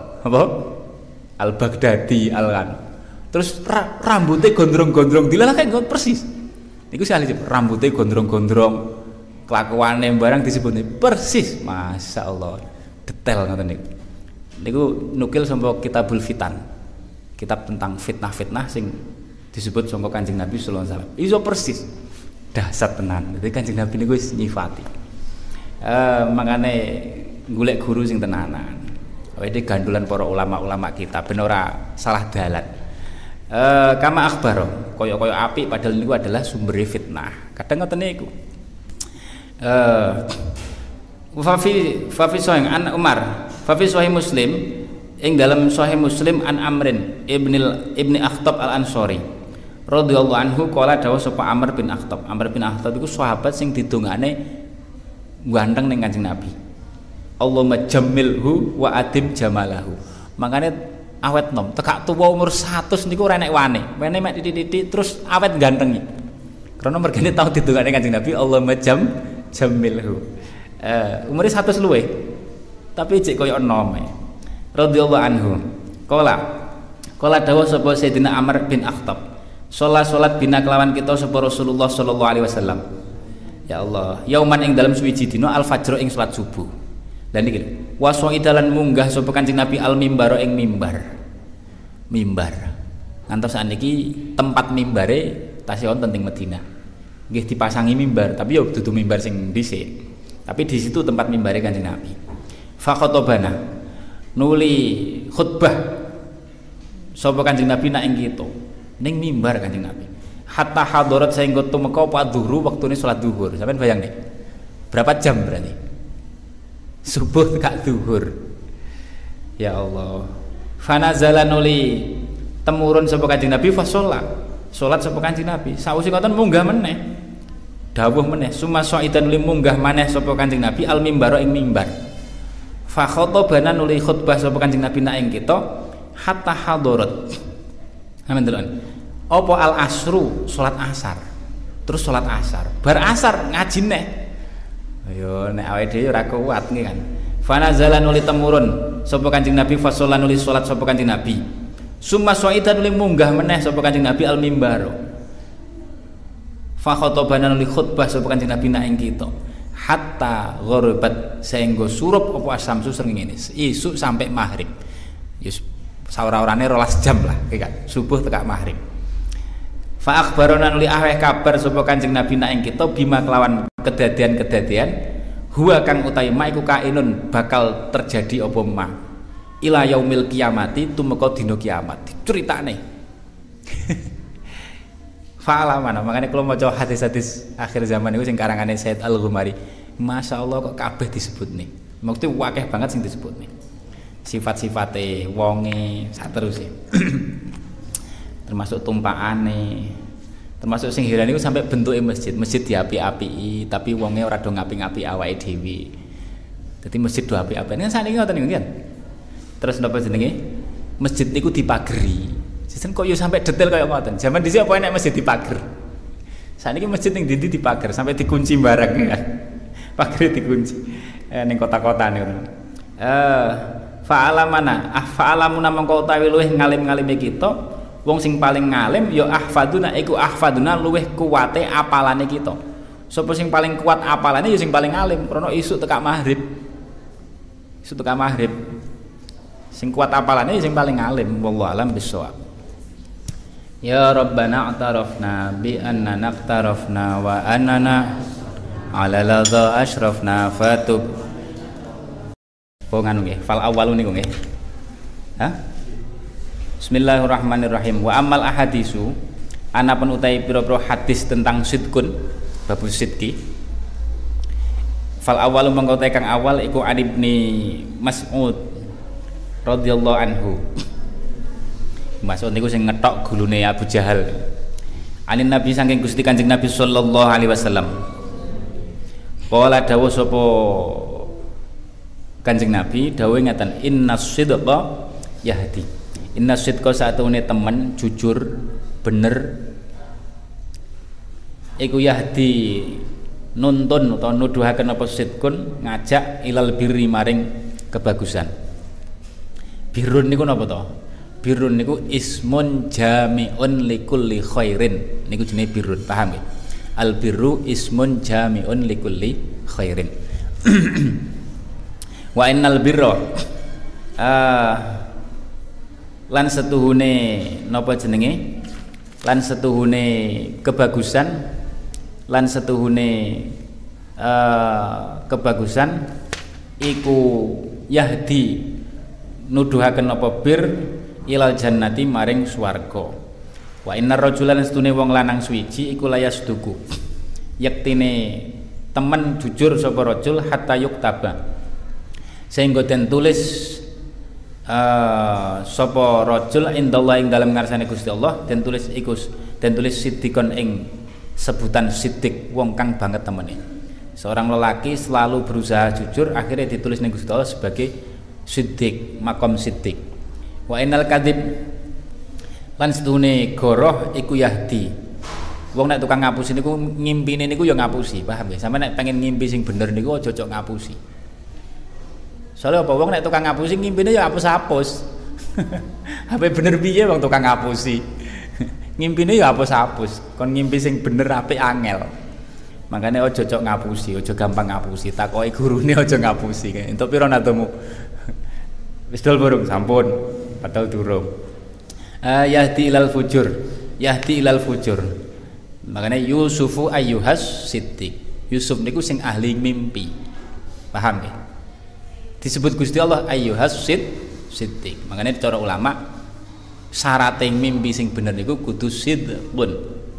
al Baghdadi, al kan. Terus rambutnya gondrong-gondrong dilalah kayak persis. Niku sih ahli rambutnya gondrong-gondrong, kelakuane barang disebutnya persis. Masya Allah, detail ngoten niku. Niku nukil saka Kitabul Fitan. Kitab tentang fitnah-fitnah sing disebut saka Kanjeng Nabi sallallahu alaihi wasallam. Iso persis. Dahsyat tenan. Dadi Kanjeng Nabi niku wis nyifati. Makane golek guru sing tenanan. Awake gandulan para ulama-ulama kita ben ora salah dalan. Kama akhbaro koyo-koyo apik padahal niku adalah sumber fitnah. Kadang ngoten niku. Fa fi sahih an Umar, fa fi sahih Muslim ing dalam sahih Muslim an Amrin ibni Akhtab al-Ansori radhiyallahu anhu qala dawuh sapa Amr bin Akhtab. Amr bin Akhtab iku sahabat sing didongane ganteng ning Kanjeng Nabi. Allahumma jammilhu wa adim jamalahu. Makane awet nom, tekak tuwa umur 100 niku ora enek wane. Wene mek titik-titik terus awet ganteng. Karena mergane tau didongane Kanjeng Nabi Allahumma jammilhu. Umure 100 luwe. Tapi cek koyo enom. Radhiyallahu anhu. Qala dawuh sapa Sayyidina Amr bin Akhtab. Salat bina kelawan kita sapa Rasulullah sallallahu alaihi wasallam. Ya Allah, yauman ing dalem suwiji dina al-fajr ing salat subuh. Dan iki wasoidalan munggah sapa Kanjeng Nabi al-mimbaro ing mimbar. Ngantos sakniki tempat mimbare tasih wonten ing Madinah. Nggih dipasangi mimbar, tapi yo dudu mimbar sing dhisik. Tapi di situ tempat mimbare Kanjeng Nabi. Fa khatobana nuli khutbah sapa Kanjeng Nabi nak ing kita ning mimbar Kanjeng Nabi. Hatta hadarat saengga tumeka apa dhuhur wektune salat zuhur. Sampeyan bayang nih. Berapa jam berarti? Subuh kak zuhur. Ya Allah. Fanazala nuli temurun sapa Kanjeng Nabi fa salat sapa Kanjeng Nabi. Sawise ngoten munggah meneh. Dawuh meneh summa sa'idan nuli munggah maneh sapa Kanjeng Nabi al mimbaro ing mimbar. Fa khatabana nuli khutbah sapa Kanjeng Nabi nak ing kita hatta hadarat. Amin delon. Apa al asru salat asar. Terus salat asar. Bar asar ngaji neh. Ayo nek awake dhewe ora kuat nggih kan. Fa nazala nuli temurun sapa Kanjeng Nabi fa nuli salat sapa Kanjeng Nabi. Summa sa'idan nuli munggah meneh sapa Kanjeng Nabi al mimbaro. Fa khatabana nuli khutbah sapa Kanjeng Nabi nak ing kita. Hatta gharabat saengga surup apa asamsu srengenge isuk sampai maghrib. Yes saora-orane 12 jam lah kan subuh tekak maghrib. Fa akhbarana nuli aweh kabar sapa Kanjeng Nabi nak ing kita bima kelawan kedadian-kedadian huwa kang utawi ma iku kainun bakal terjadi apa ma ila yaumil kiamati tumeka dina kiamat diceritane. Fa'ala mana makanya kalau maca hadis-hadis akhir zaman itu sing karangane Said Al-Ghumari, Masya Allah kok kabeh disebut nih. Maksudnya wakeh banget sing disebut nih. Sifat-sifate wonge saterusé. Termasuk tumpakane, termasuk sing heran niku sampai bentuke masjid diapi-apiki, tapi wonge ora do ngapi-ngapi awake dhewe. Dadi masjid do api-apiki. Nek sakniki ngoten niku kan. Terus napa jenenge? Masjid niku dipageri. Jajan kok yo sampai detail kaya ngoten. Zaman dhisik apa enek masjid dipager. Sakniki masjid ning ndi dipager sampai dikunci bareng ya. Pager dikunci. Ning kota-kota niku. Fa'alamana fa'alamuna mongko utawi luweh ngalim-ngalime kita wong sing paling ngalim ya ahfaduna iku ahfaduna luweh kuwate apalane kita. Sapa sing paling kuat apalane ya sing paling alim krana isuk tekak maghrib. Isuk tekak maghrib. Sing kuat apalane ya sing paling alim wallahu alam bisawab. Ya Rabbana a'tarafna bi annana naqtarafna wa annana ala ladha ashrafna fatub. Oh nganu nggih, fal awwalu niku nggih. Hah? Bismillahirrahmanirrahim. Wa amal ahadisu anapun utai pira-pira hadis tentang sidqun, babus sidqi. Fal awwalu mangko kang awal iku Ali bin Mas'ud radhiyallahu anhu. Mas'ud niku sing ngetok gulune Abu Jahal. Anin Nabi saking Gusti Kanjeng Nabi sallallahu alaihi wasallam. Qala dawuh sapa Kanjeng Nabi dawuh ngaten innas sidqa yahdi. Inna sidqa satune temen jujur bener iku yahdi nuntun utawa nuduhaken apa sidqun ngajak ilal birri maring kebagusan. Birrun niku napa to? Birrun niku ismun jami'un likulli khairin. Niku jenenge birrun, paham ya? Al birru ismun jami'un likulli khairin. Wa innal birra lan setuhune napa jenenge? Lan setuhune kebagusan, lan setuhune kebagusan iku yahdi nuduhaken apa bir ilal jannati maring swarga. Wa innar rajulan setune wong lanang suwiji iku layas duku yektine temen jujur sapa rajul hatta yuktaba sehingga den tulis sapa rajul indallah ing dalem ngarsane Gusti Allah den tulis iku den tulis siddiqon ing sebutan siddiq wong kang banget temene. Seorang lelaki selalu berusaha jujur akhirnya ditulis ning Gusti Allah sebagai siddiq, makom siddiq. Wa innal kadzib lan sedune goroh iku yahdi. Wong nek tukang ngapusi niku ngimpine niku ya ngapusi, paham ya? Sampe nek pengen ngimpi sing bener niku aja cocok ngapusi. Soalnya apa wong nek tukang ngapusi ngimpine ya hapus-hapus. Apa bener piye wong tukang ngapusi? Ngimpine ya hapus-hapus. Kon ngimpi sing bener apik angel. Makanya aja cocok ngapusi, aja gampang ngapusi. Takoki gurune aja ngapusi. Entuk pira natomu? Wis dol burung sampun, padahal durung. Yahdi ilal fujur, yahdi ilal fujur. Makanya Yusufu ayyuhas siddiq. Yusuf niku sing ahli mimpi. Paham ya? Disebut Gusti Allah ayyuhas siddiq. Makanya cara ulama syarat mimpi sing bener niku kudu sidqun.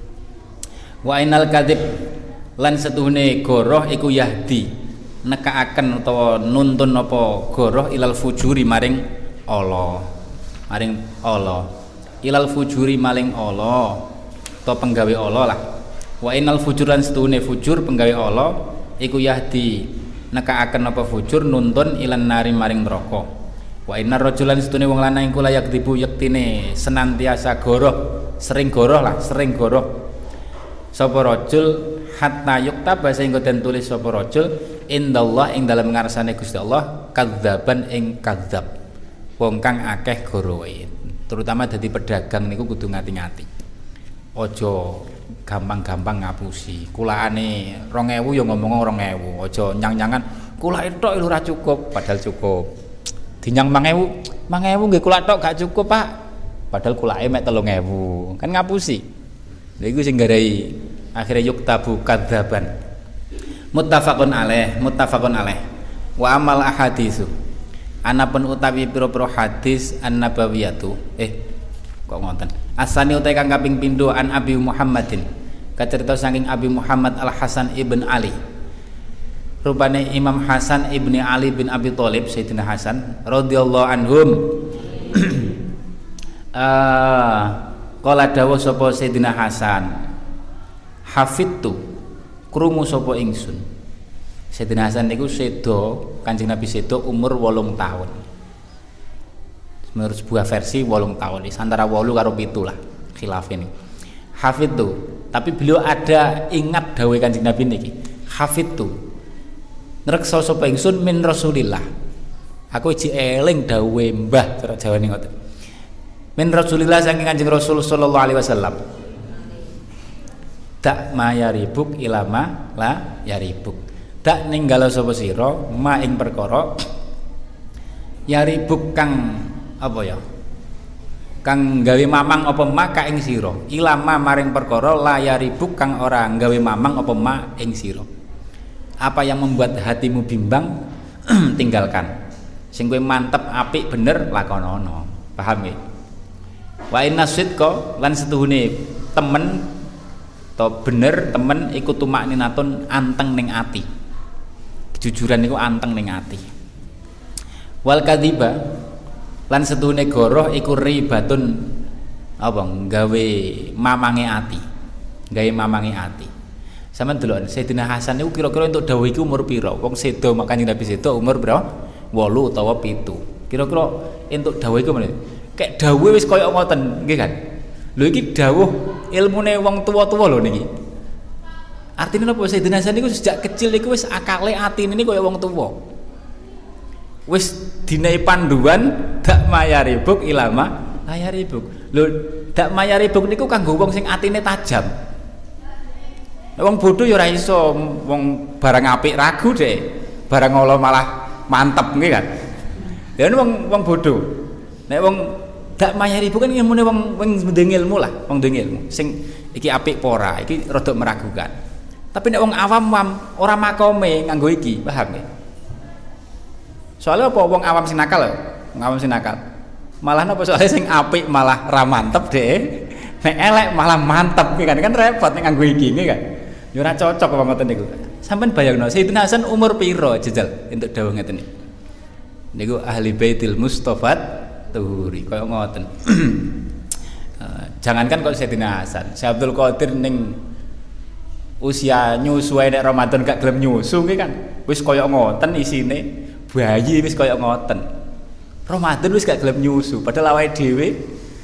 Wa ainal kadzib lan setuhune goroh iku yahdi nekaaken utawa nuntun apa goroh ilal fujuri maring Allah. Maring Allah. Ilal fujuri maling Allah. Atau penggawe Allah lah. Wa innal fujuran setuhune fujur penggawe Allah iku yahdi nekaaken apa fujur nuntun ilan nari maring neraka. Wa innar rajulan setuhune wong lanang iku layak dibu yektine senantiasa goroh, sering goroh lah, sering goroh. Sapa rajul hatta yuktaba sehingga den tulis sapa rajul indallah ing dalem ngarsane Gusti Allah kadzaban ing kadzab. Wong kang akeh gorohe. Terutama dadi pedagang niku kudu ngati-ngati. Ojo gampang-gampang ngapusi. Kulaane 2000 ya ngomong 2000. Ojo nyang-nyangan kulake tok lho ora cukup, padahal cukup. Dinyang 5000 nggih kulak tok gak cukup, Pak. Padahal kulake mek 3000. Kan ngapusi. Lha iku sing garai akhire yuktabu kadzaban. Muttafaqun alaih. Wa amal ahaditsu. Anapun utawi pira-pira hadis an-nabawiyatu. Kok ngoten. Asani utai kang kaping pindho an Abi Muhammadin. Kacerita saking Abi Muhammad Al Hasan ibn Ali. Rupane Imam Hasan ibni Ali bin Abi Thalib Sayyidina Hasan radhiyallahu anhum. Qala dawuh sapa Sayyidina Hasan. Hafidtu krungu sapa ingsun. Sayyidina Hasan niku sedo, Kanjeng Nabi sedo umur 8 tahun. Menurut sebuah versi 8 tahun, antara 8 karo 7 lah khilaf ini. Hafidtu, tapi beliau ada ingat dawuh Kanjeng Nabi niki. Hafidtu. Ngreksa sapa ingsun min Rasulillah. Aku iki eling dawuhe Mbah cara Jawane ngoten. Min Rasulillah saking Kanjeng Rasul sallallahu alaihi wasallam. Tak ma yaribuk ilama la yaribuk. Tak ninggalo sapa sira ma ing perkara yaribuk kang apa ya? Kang gawe mamang apa maka ing sira. Ilama maring perkara la yaribuk kang ora gawe mamang apa ma ing sira. Apa yang membuat hatimu bimbang tinggalkan. Sing kowe mantep apik bener lakonono. Paham ya? Wa inna sidqa lan setuhune temen to bener temen iku tumakninatun anteng ning ati. Kejujuran niku anteng ning ati. Wal kadziba lan setuhune goroh iku ribatun apa gawe mamange ati. Gawe mamange ati. Sampeyan delok Sayyidina Hasan niku kira-kira entuk dawuh iki umur pira? Wong sedo makane Nabi sedo umur pira? 8 utawa 7. Kira-kira entuk dawuh iku meneh. Kayak dawuh wis kaya ngoten, nggih kan? Lho iki dawuh ilmune wong tuwa-tuwa lho niki. Artinya napa Sayyidina Hasan niku sejak kecil niku wis akale atine niku kaya wong tuwa. Wis dinai panduan dak mayaribuk ilama layaribuk. Lho dak mayaribuk niku kanggo wong sing atine tajam. Wong bodho ya ora iso, wong barang apik ragu deh, barang ala malah mantep nggih kan. Lha wong bodho. Nek wong dak mayaribu kan ilmune wong ndeng ilmu lah, wong ndeng ilmu. Sing iki apik apa ora, iki rada meragukan. Tapi nek wong awam ora makome nganggo iki, paham nggih? Soalnya apa wong awam sing nakal lho, wong awam sing nakal. Malah napa soalnya sing apik malah ra mantep deh. Nek elek malah mantep kan repot nek nganggo iki nggih kan. Ya ora cocok kok ngoten niku. Sampeyan bayangno Sayyidina Hasan umur piro jejal entuk dawuh ngeten niku. Niku ahli baitil Mustofat Tuhuri kaya ngoten. Jangankan kok Sayyidina Hasan, Syekh Abdul Qadir ning usia nyusu nek Ramadan gak gelem nyusu nggih kan. Wis kaya ngoten isine, bayi wis kaya ngoten. Ramadan wis gak gelem nyusu, padahal awake dhewe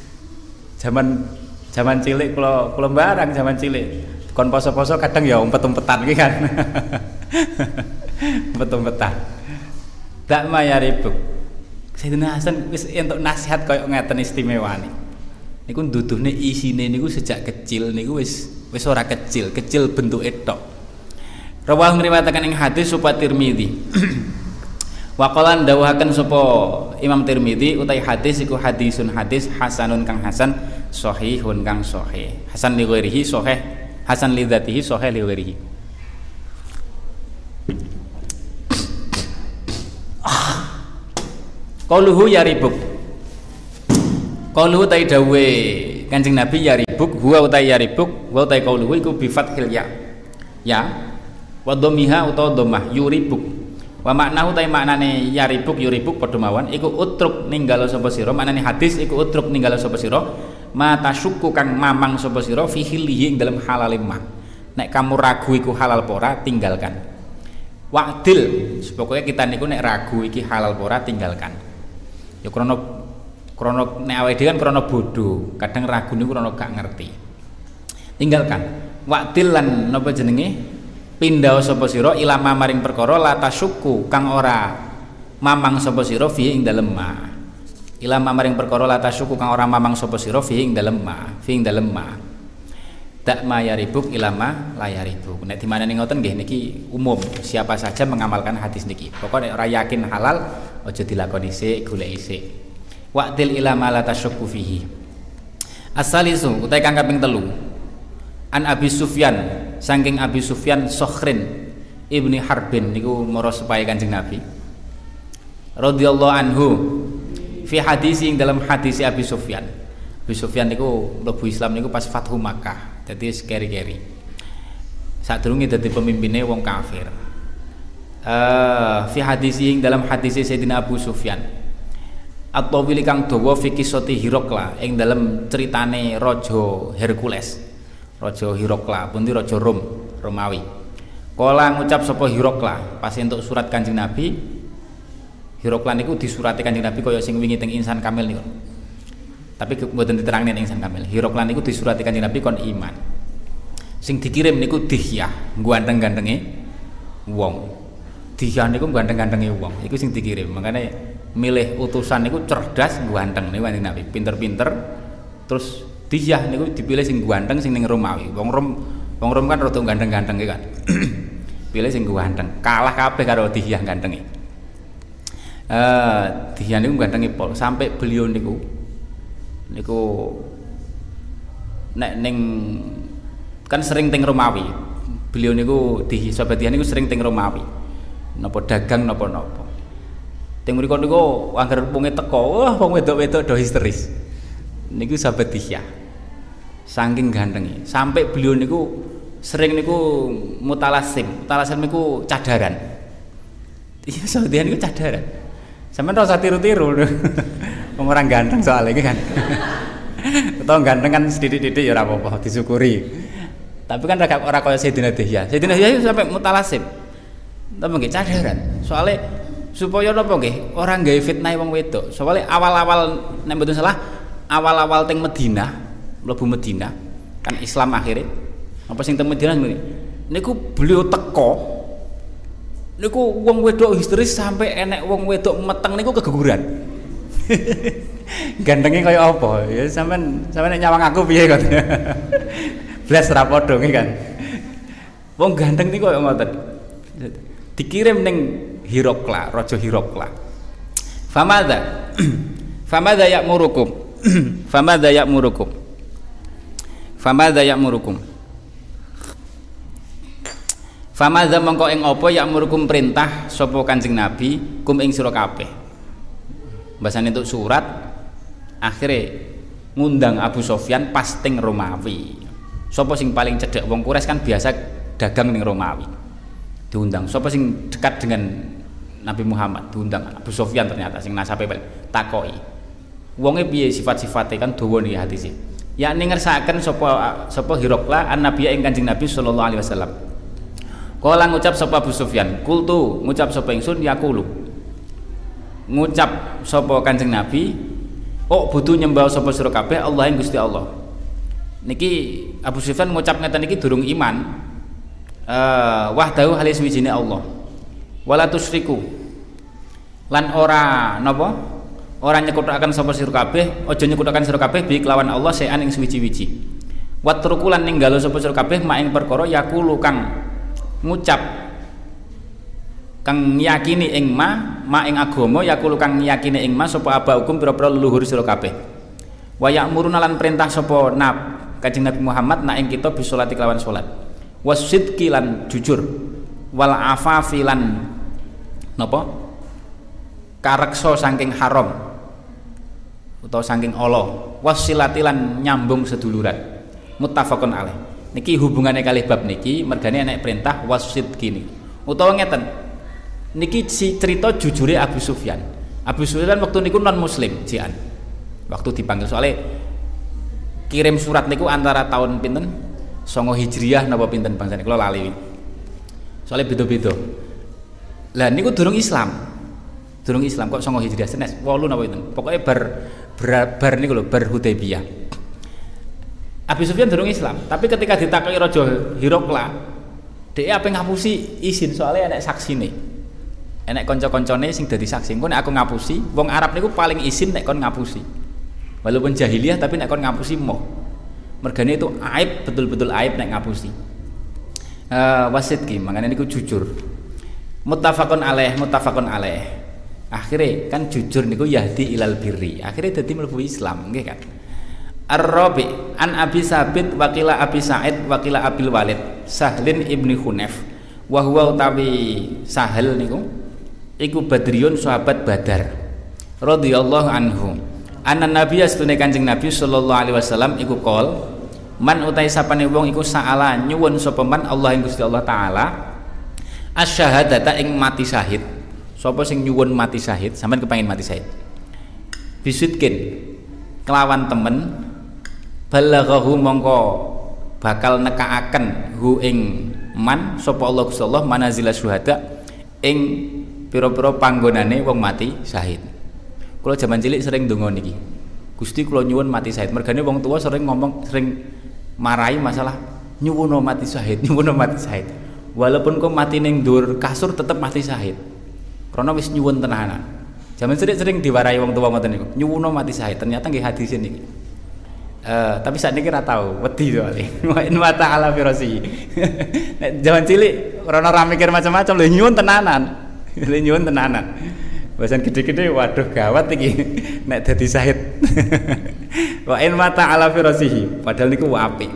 zaman cilik kula barang zaman cilik kon poso-poso kadang ya umpet-umpetan iki kan. Umpet-umpetan. Dak mayaribuk. Sayyidina Hasan wis entuk nasihat kaya ngeten istimewane. Niku nduduhne isine niku sejak kecil niku wis ora kecil bentuke tok. Rawah ngriwayataken ing hadis sapa Tirmidzi. Wa qalan dawuhaken sapa Imam Tirmidzi utai hadis iku hadisun hadis hasanun kang hasan sahihun kang sahih. Hasan li ghairihi sahih, hasan li dzatihi sahih li ghairihi. Qauluhu yaribuk. Qauluhu ta dawuhe Kanjeng Nabi yaribuk, huwa utai yaribuk, wa utai qauluhu iku bi fathil ya. Ya. Wa dhammiha utawa dhammah yuribuk. Wa maknahu ta maknane yaribuk yuribuk padha mawon iku utruk ninggalo sapa sira, maknane hadis iku utruk ninggalo sapa sira, mata syukku kang mamang sapa sira fi hilihi ing dalem halal ma. Nek kamu ragu iku halal apa ora tinggalkan. Wa'dil, pokoknya kita niku nek ragu iki halal apa ora tinggalkan. Ya krana nek awake dhewe kan krana bodho, kadang ragu niku krana gak ngerti. Tinggalkan. Wa'dil lan napa jenenge? Pindha sapa sira ilama maring perkara la tasyukku kang ora mamang sapa sira fi ing dalem ma. Ilama maring perkara la tasyukku kang ora mamang sapa sira fi ing dalem ma, fi ing dalem ma. Dak mayaribuk ilama layaribuk. Nek dimanani ngoten nggih niki umum, siapa saja mengamalkan hadis niki. Pokoke nek ora yakin halal aja dilakoni sik, goleki sik. Wa'dil ilama la tasyukku fihi. As-salisu utai kang kaping 3. An Abi Sufyan saking Abi Sufyan Sokhrin ibni Harbin niku mara sepahe Kanjeng Nabi radhiyallahu anhu fi hadis ing dalam hadis Abi Sufyan. Abi Sufyan niku mlebu Islam niku pas Fathu Makkah, dadi keri-keri. Sadurunge dadi pemimpine wong kafir. Fi hadis ing dalam hadis Sayyidina Abu Sufyan. At-tawil kang dawa fi kisati Hirokla ing dalam ceritane Raja Hercules. Raja Hirokla, pundi Raja Romawi. Kala ngucap sapa Hirokla pas entuk surat Kanjeng Nabi. Hirokla niku disurati Kanjeng Nabi kaya sing wingi teng Insan Kamil niku. Tapi mboten diterangne teng Insan Kamil. Hirokla niku disurati Kanjeng Nabi kon iman. Sing dikirim niku Dihyah, ganteng-gantenge wong. Dihyah niku ganteng-gantenge wong. Iku sing dikirim. Makane milih utusan niku cerdas, ganteng niku Kanjeng Nabi, pinter-pinter. Terus Dihyah niku dipilih sing ganteng sing ning Romawi. Wong Rom kan rada ganteng-ganteng kan. Pilih sing ganteng. Kalah kabeh karo Dihyah gantenge. Dihyah niku gantenge pol sampai beliau niku nek ning kan sering teng Romawi. Beliau niku Sahabat Dihyah niku sering teng Romawi. Napa dagang napa-napa. Teng mriku niku angger punge teko, wah wong wedok-wedok do histeris. Niku Sahabat Dihyah saking gantenge sampai beliau niku sering niku mutalasim niku cadaran. Iya Sahabat Dihyah niku cadaran sampean ora usah tiru-tiru wong orang ganteng soalnya kan atau ganteng kan sedidik-didik ya ora apa-apa disyukuri, tapi kan ora kaya Sayyidina Dihyah. Sayyidina Dihyah sampai mutalasim tapi nggih cadaran soalnya supaya napa nggih ora gawe fitnah wong wedok. Soale awal-awal nek mboten salah awal-awal teng Madinah, mlebu Madinah kan Islam akhirnya. Apa sing teng Madinah niku beliau teko niku wong wedok histeris sampai enek wong wedok meteng niku keguguran. Gantengnya kaya apa? Ya sampean nek nyawang aku piye kok. Blas ra padha kan. Wong ganteng niku kaya ngoten. Dikirim ning Hirokla, Raja Hirokla. Famadza? Famadza ya'murukum? Famadza ya'murukum? Famadza ya'murukum? Famadza mongko ing apa ya'murukum perintah sapa Kanjeng Nabi kum ing sira kabeh. Bahasane entuk surat akhirnya ngundang Abu Sofyan pas teng Romawi. Sapa sing paling cedhek wong Quraisy kan biasa dagang ning Romawi. Diundang. Sapa sing dekat dengan Nabi Muhammad diundang Abu Sofyan ternyata sing nasabe takoki. Wonge piye sifat-sifate kan dawa niki hadise. Yakni ngersakaken sapa Hirokla an Nabi ing Kanjeng Nabi sallallahu alaihi wasallam. Kala ngucap sapa Abu Sufyan, kultu ngucap sapa ingsun yaqulu. Ngucap sapa Kanjeng Nabi, "Oh butuh nyembah sapa sira kabeh Allah ing Gusti Allah." Niki Abu Sufyan ngucap ngeten niki durung iman. Wahdahu halis wijine Allah. Wala tusyriku. Lan ora napa? Ora nyekuthaken sapa sira kabeh, aja nyekuthaken sira kabeh bi kelawan Allah sean ing suwi-wiji. Watruku lan ninggalo sapa sira kabeh mak ing perkara yaqulu kang ngucap kang yakini ing ma ing agama yaqulu kang yakini ing ma sapa aba hukum pira-pira leluhur sira kabeh. Wa ya'muruna lan perintah sapa Kanjeng Nabi Muhammad nak ing kita bisolati kelawan salat. Wasidqi lan jujur wal afafi lan napa kareksa saking haram utawa saking Allah wasilati lan nyambung seduluran muttafaqun alaih. Niki hubungannya kalih bab niki mergane enek perintah wasidqi niki utawa ngeten niki si cerita jujure Abu Sufyan. Abu Sufyan waktu niku non muslim jian waktu dipanggil soalnya kirim surat niku antara tahun pinten 9 Hijriah napa pinten bangsane kula lali. Soale beda-beda. Lah niku durung Islam. Durung Islam kok 9 Hijriah senes 8 napa pinten. Pokoke bar niku lho bar Hudaybiyah. Abu Sufyan durung Islam, tapi ketika ditakoki Raja Hirokla, dhek ape ngapusi izin soalnya enek saksine. Enek kanca-kancane sing dadi saksi. Engko nek aku ngapusi, wong Arab niku paling izin nek kon ngapusi. Walaupun jahiliyah tapi nek kon ngapusi moh. Mergane itu aib, betul-betul aib nek ngapusi. Wasidqi, makanya niku jujur. Muttafaqun alaih. Akhire kan jujur niku yahdi ilal birri. Akhire dadi mlebu Islam, nggih kan. Ar-Rabi an Abi Sabit waqila Abi Sa'id waqila Abil Walid Sahlin ibni Hunayf wa huwa utawi Sahal niku iku Badriyun sahabat Badar radhiyallahu anhu. Anna Nabi astune Kanjeng Nabi sallallahu alaihi wasallam iku qol man utai sapane wong iku saala nyuwun sapa man Allah ing Gusti Allah taala asyhadata ing mati syahid. Sapa sing nyuwun mati syahid sampean kepengin mati syahid bisitkin kelawan temen balaghahu mongko bakal nekaaken hu ing man sapa Allah Gusti Allah manazila syuhada ing pira-pira panggonane wong mati syahid. Kalau zaman cilik sering ndonga niki. Gusti kula nyuwun mati syahid. Mergane wong tua sering marahi masalah nyuwun mati syahid, nyuwun mati syahid. Walaupun kok mati ning ndur kasur tetep mati syahid. Karena wis nyuwun tenanan. Zaman cilik sering diwarai wong tua ngoten niku. Nyuwun mati syahid. Ternyata nggih hadis niki. Tapi saat niki ora tau, wedi soalé. Wa in wa ta'ala fi rasi. Nek zaman cilik ora mikir macam-macam lho nyuwun tenanan. Lho nyuwun tenanan. Bahasan gede-gede waduh gawat iki nek dadi syahid. Wa in mata ala firasihi padahal niku apik.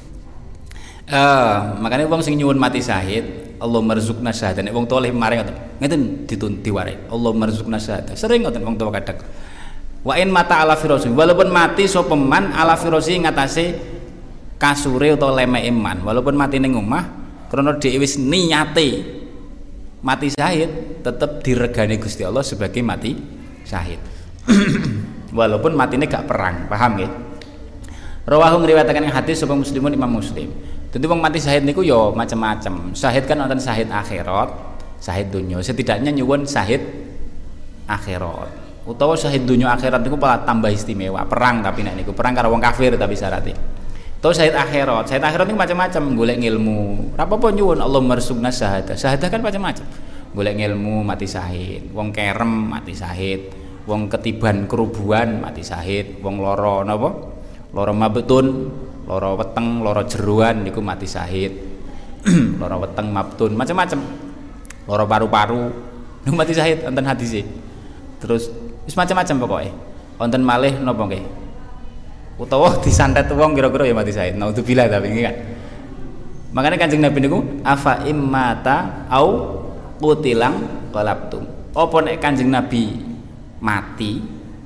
Makanya wong sing nyuwun mati syahid, Allah marzuqna syahadah. Nek wong tuwa maring ngeten diwarai. Allah marzuqna syahadah. Sering ngoten wong tuwa kadang. Wa in mata ala firasihi walaupun mati sapa man ala firasihi ngatasé kasure utawa lemeke man. Walaupun mati ning omah krana dhewe wis niyate mati syahid tetap diregani Gusti Allah sebagai mati syahid. Walaupun matine gak perang, paham nggih? Rawahu ngriwayataken hadis sapa Muslimun Imam Muslim. Dadi wong mati syahid niku ya macam-macam. Syahid kan wonten syahid akhirat, syahid dunya. Setidaknya nyuwun syahid akhirat. Utawa syahid dunya akhirat niku malah tambah istimewa. Perang tapi nek niku perang karo wong kafir tapi syaratnya. Utawa syahid akhirat. Syahid akhirat niku macam-macam, golek ilmu. Ora apa-apa nyuwun Allah marsugna syahadah. Syahadah kan macam-macam. Golek ilmu mati syahid, wong kerem mati syahid, wong ketiban kerubuhan mati syahid, wong loro napa? Loro mabtun, loro weteng, loro jeruan niku mati syahid. Loro weteng mabtun macam-macam. Loro paru-paru niku mati syahid wonten hadise. Terus wis macam-macam pokoke. Wonten malih napa nggih? Utawa disantet wong kira-kira ya mati syahid. Naudzubillah tapi nggih kan. Makanya Kanjeng Nabi niku afa immata au qutilang qalabtum. Apa nek Kanjeng Nabi mati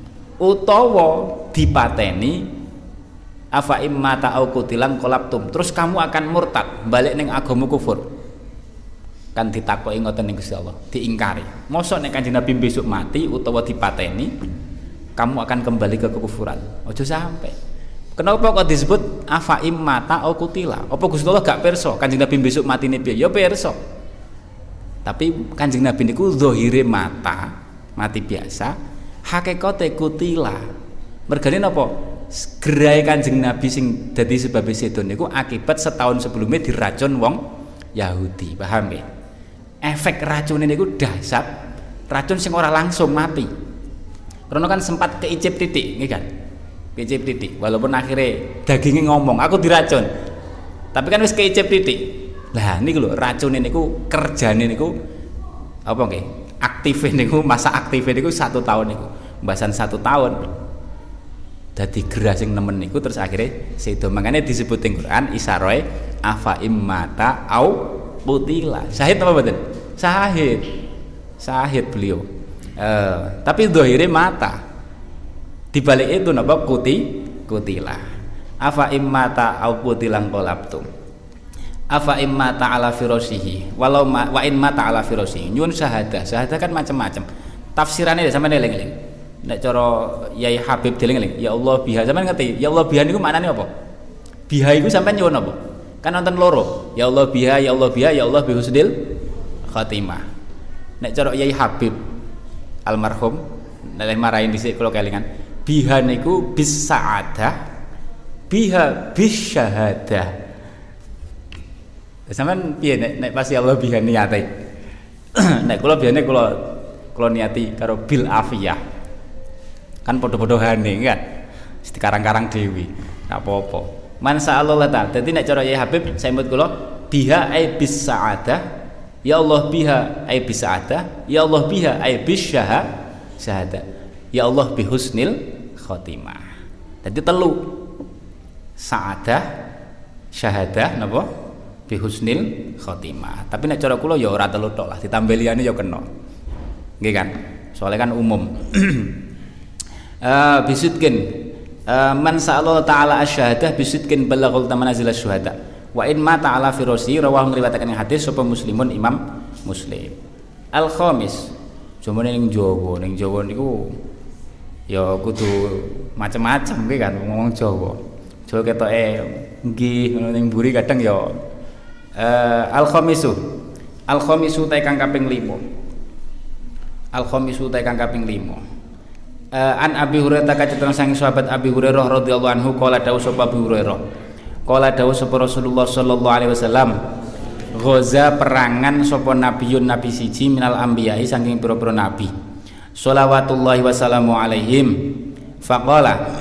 utawa dipateni afa immata au qutilang qalabtum. Terus kamu akan murtad, balik ning agama kufur. Kan ditakoki ngoten ning Gusti Allah, diingkari. Mosok nek Kanjeng Nabi besok mati utawa dipateni, kamu akan kembali ke kekufuran. Ojo sampai. Kenapa kok disebut afa immata au qutila? Apa Gusti Allah gak pirsa Kanjeng Nabi besok matine piye? Ya pirsa. Tapi Kanjeng Nabi niku zahire mati biasa, hakikate kutila. Mergane napa? Gerai Kanjeng Nabi sing dadi sebab sedo niku akibat setahun sebelumnya diracun wong Yahudi, paham ya? Efek racun niku dahsyat, racun sing ora langsung mati. Karena kan sempat keicip titik, nggih kan? Keicip titik, walaupun akhirnya dagingnya ngomong, aku diracun. Tapi kan wis keicip titik. Lah niku lho racune niku kerjane niku apa nggih? Aktive niku masa aktive niku 1 tahun niku. Mbasan 1 tahun. Dadi gerah sing nemen niku terus akhirnya sedo. Makanya disebut ing Quran isaroe afa immata au qutila. Syahid apa mboten? Syahid. Syahid beliau. Tapi zahire mata. Di balik itu napa kutila. Afa immata au qutilang qalabtum. Afa imma ta'ala firasihi walau wa in ma ta'ala firasihi nyun syahadah kan macam-macam tafsirannya sampeyan eling-eling nek cara Yai Habib dieling-eling ya Allah biha sampeyan ngerti ya Allah biha niku maknane apa biha iku sampeyan nyuwun apa kan nonton loro ya Allah biha ya Allah biha ya Allah bihusnil khatimah nek cara Yai Habib almarhum nek marahin dhisik kula kelingan biha niku bis sa'adah biha bis syahadah. Sampeyan piye nek pasti Allah biha niate. Nek kula biyane kula niati karo bil afiyah. Kan padha-padhane kan. Wis dikarang-karang dewi. Enggak apa-apa. Man sa'allahu ta'ala. Dadi nek cara Yai Habib sampeyan kula biha ai bis sa'adah. Ya Allah biha ai bis sa'adah. Ya Allah biha ai bis syahadah. Ya Allah bi husnil khotimah. Dadi telu. Sa'adah, syahadah napa? Bihusnil khotimah. Tapi nek cara kula ya ora telu tok lah, ditambah liyane ya kena. Nggih kan? Soalnya kan umum. Bisudkin man sa'allahu ta'ala asy-syahadah bisudkin balaghul tamanazil asy-syuhada. Wa in ma ta'ala firasi rawahum riwayataken hadis sapa Muslimun Imam Muslim. Al-khamis. Jomone ning Jawa niku ya kudu macam-macam nggih kan ngomong Jawa. Jawa ketoke nggih ngono ning mburi kadang ya al-khamisu ta kang kaping 5 an Abi Hurairah kacetan sang sahabat Abi Hurairah radhiyallahu anhu qala dawuh sapa Abi Hurairah qala dawuh sapa Rasulullah sallallahu alaihi wasallam ghaza perangan sapa nabiyun nabi siji minal anbiya'i saking pira-pira nabi shalawatullahi wasallamu alaihim faqala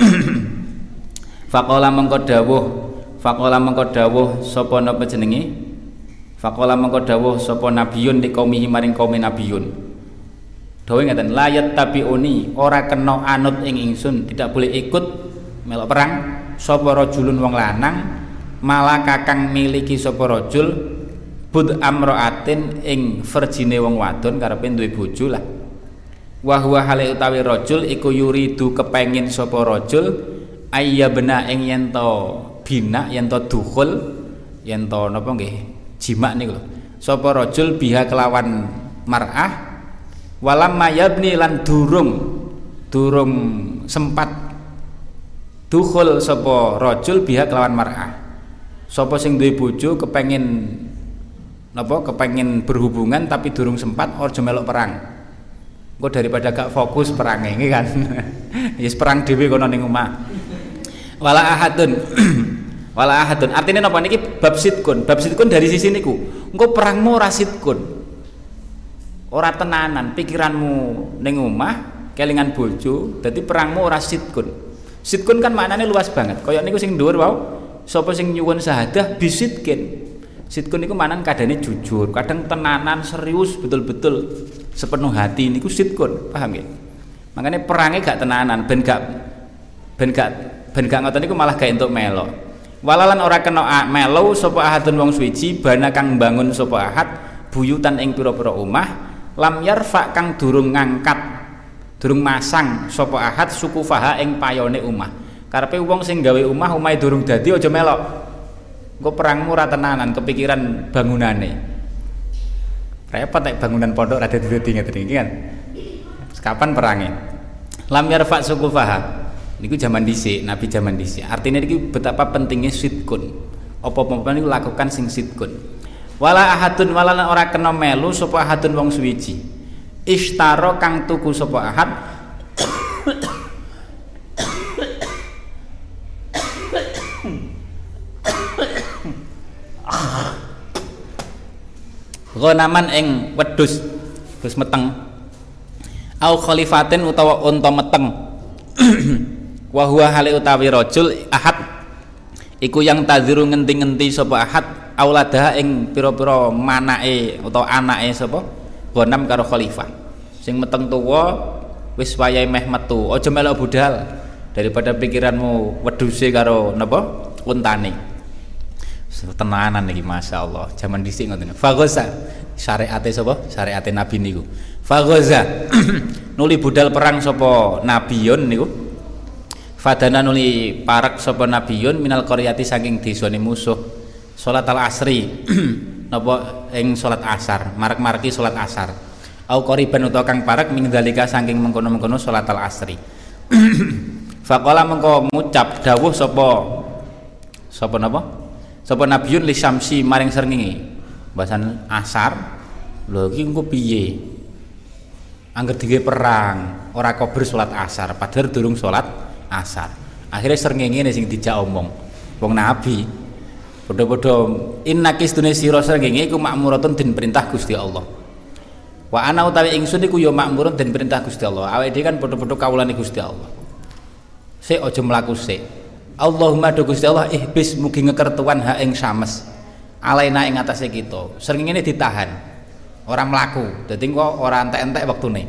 mengko dawuh sapa napa jenenge faqala mengko dawuh sapa nabiyun di kaumihi maring kaum nabiyun dawuh ngaten layat tabiuni ora kena anut ing ingsun tidak boleh ikut melok perang sapa rajulun wong lanang malah kakang miliki sapa rajul bud amraatin ing verjine wong wadon karepe duwe bojo lah wa huwa hale utawi rajul iku yuridu kepengin sapa rajul ayyabna ing yen to bina yen to dukhul yen to napa nggih jima niku lho sapa rajul biha kelawan mar'ah walam mayabni lan durung sempat dukhul sapa rajul biha kelawan mar'ah sapa sing duwe bojo kepengin berhubungan tapi durung sempat aja melok perang Engko daripada gak fokus perange nggih kan. Wis perang dhewe kono ning omah. Wala ahadun. Wala ahadun. Artine napa niki bab sidkun. Bab sidkun dari sisi niku. Engko perangmu ora sidkun. Ora tenanan, pikiranmu ning omah kelingan bojo, dadi perangmu ora sidkun. Sidkun kan maknane luas banget. Kaya niku sing dhuwur wau, sapa sing nyuwun syahadah bisidkin. Sidkun niku maknane kadane jujur, kadang tenanan serius betul-betul sepenuh hati niku sidkun, paham nggih? Makanya perangnya gak tenanan, ben gak ngoten niku malah gak entuk melok. Walalan ora kena melo sapa ahadun wong suwiji bana kang bangun sapa ahad buyutan ing pira-pira omah lam yarfa kang durung ngangkat durung masang sapa ahad sukufaha ing payone omah. Karepe wong sing gawe omah omahe durung dadi aja melok. Engko perangmu ora tenanan kepikiran bangunane. Repot nek bangunan pondok rada dadi ngeten iki kan. Kapan perangnya? Lam yarfa sukufaha. Niku zaman dhisik, Nabi zaman dhisik. Artinya niki betapa pentingnya sidkun. Apa-apa niku lakukan sing sidkun. Wala ahadun wala ora kena melu sapa ahadun wong suwiji. Ishtaro kang tuku sapa ahad Ghanaman ing wedhus meteng au khalifatin utawa unta meteng wa huwa hale utawi rajul ahad iku yang tadziru ngenti-ngenti sapa ahad auladaha ing pira-pira manake utawa anake sapa ghanam karo khalifah sing meteng tuwa wis wayahe meh metu aja melok budal daripada pikiranmu wedhuse karo napa untane tenanan iki masyaallah zaman dhisik ngoten fagoza syariate sapa syariate nabi niku fagoza nuli budal perang sapa nabiyun niku fadana nuli parek sapa nabiyun minal qaryati saking desane musuh salat al asri napa ing salat asar marek-mareki salat asar au qariban utawa kang parek ming dalika saking mengkono-mengkono salat al asri faqala mengko ngucap dawuh sapa napa sapa nabiyun li syamsi maring srengenge bahasan asar lho iki engko piye angger digawe perang ora kober salat asar padahal durung salat asar akhirnya srengenge sing dijak omong wong nabi padha-padha innakis dunya sira srengenge iku makmuratun den perintah Gusti Allah wa ana utawi ingsun iku ya makmurun den perintah Gusti Allah awake dhewe kan padha-padha kawulane Gusti Allah sik aja mlaku sik Allahumma do Gusti Allah ihbis mugi ngekertuan ha ing sames alaina ing atase kita srengenge ditahan ora mlaku dadi kok ora entek-entek wektune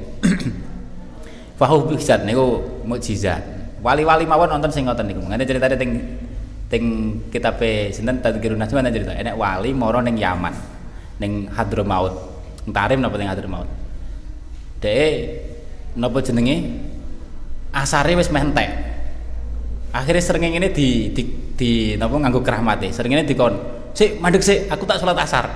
fahu bisat niku mukjizat wali-wali mawon wonten sing ngoten niku ngene critane teng kitabe sinten Tadhkirun Najm ana cerita enek wali mara ning Yaman ning Hadramaut Tarim napa ning Hadramaut dhek napa jenenge asare wis meh entek akhirnya srengenge ini di napa nganggo kerahmate srengenge dikon sik mandeg sik aku tak salat asar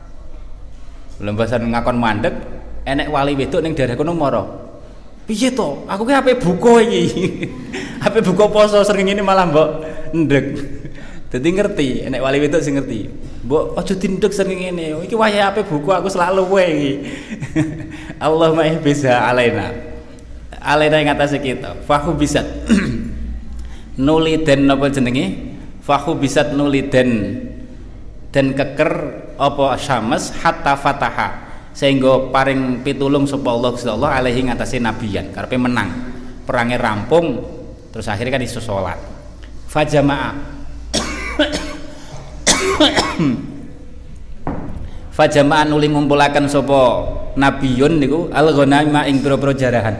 lembasan ngakon mandeg enek wali wedok ning daerah kono mara piye to aku ki ape buka iki ape buka poso srengenge ini malah mbok ndek dadi ngerti enek wali wedok sing ngerti mbok aja dindek srengenge ini iki wayahe ape buka aku selalu kowe iki Allahumma ihbisa alaina ing atase kita fahu bisat nuli den napa jenenge fahu bisat nuli den keker apa syams hatta fataha sehingga paring pitulung sapa Allah Gusti Allah alaihi ngatasi nabiyan karepe menang perangnya rampung terus akhirnya kan iso salat fajama'a fajama'a nuli ngumpulaken sapa nabiyun niku al-ghanaima ing pira-pira jarahan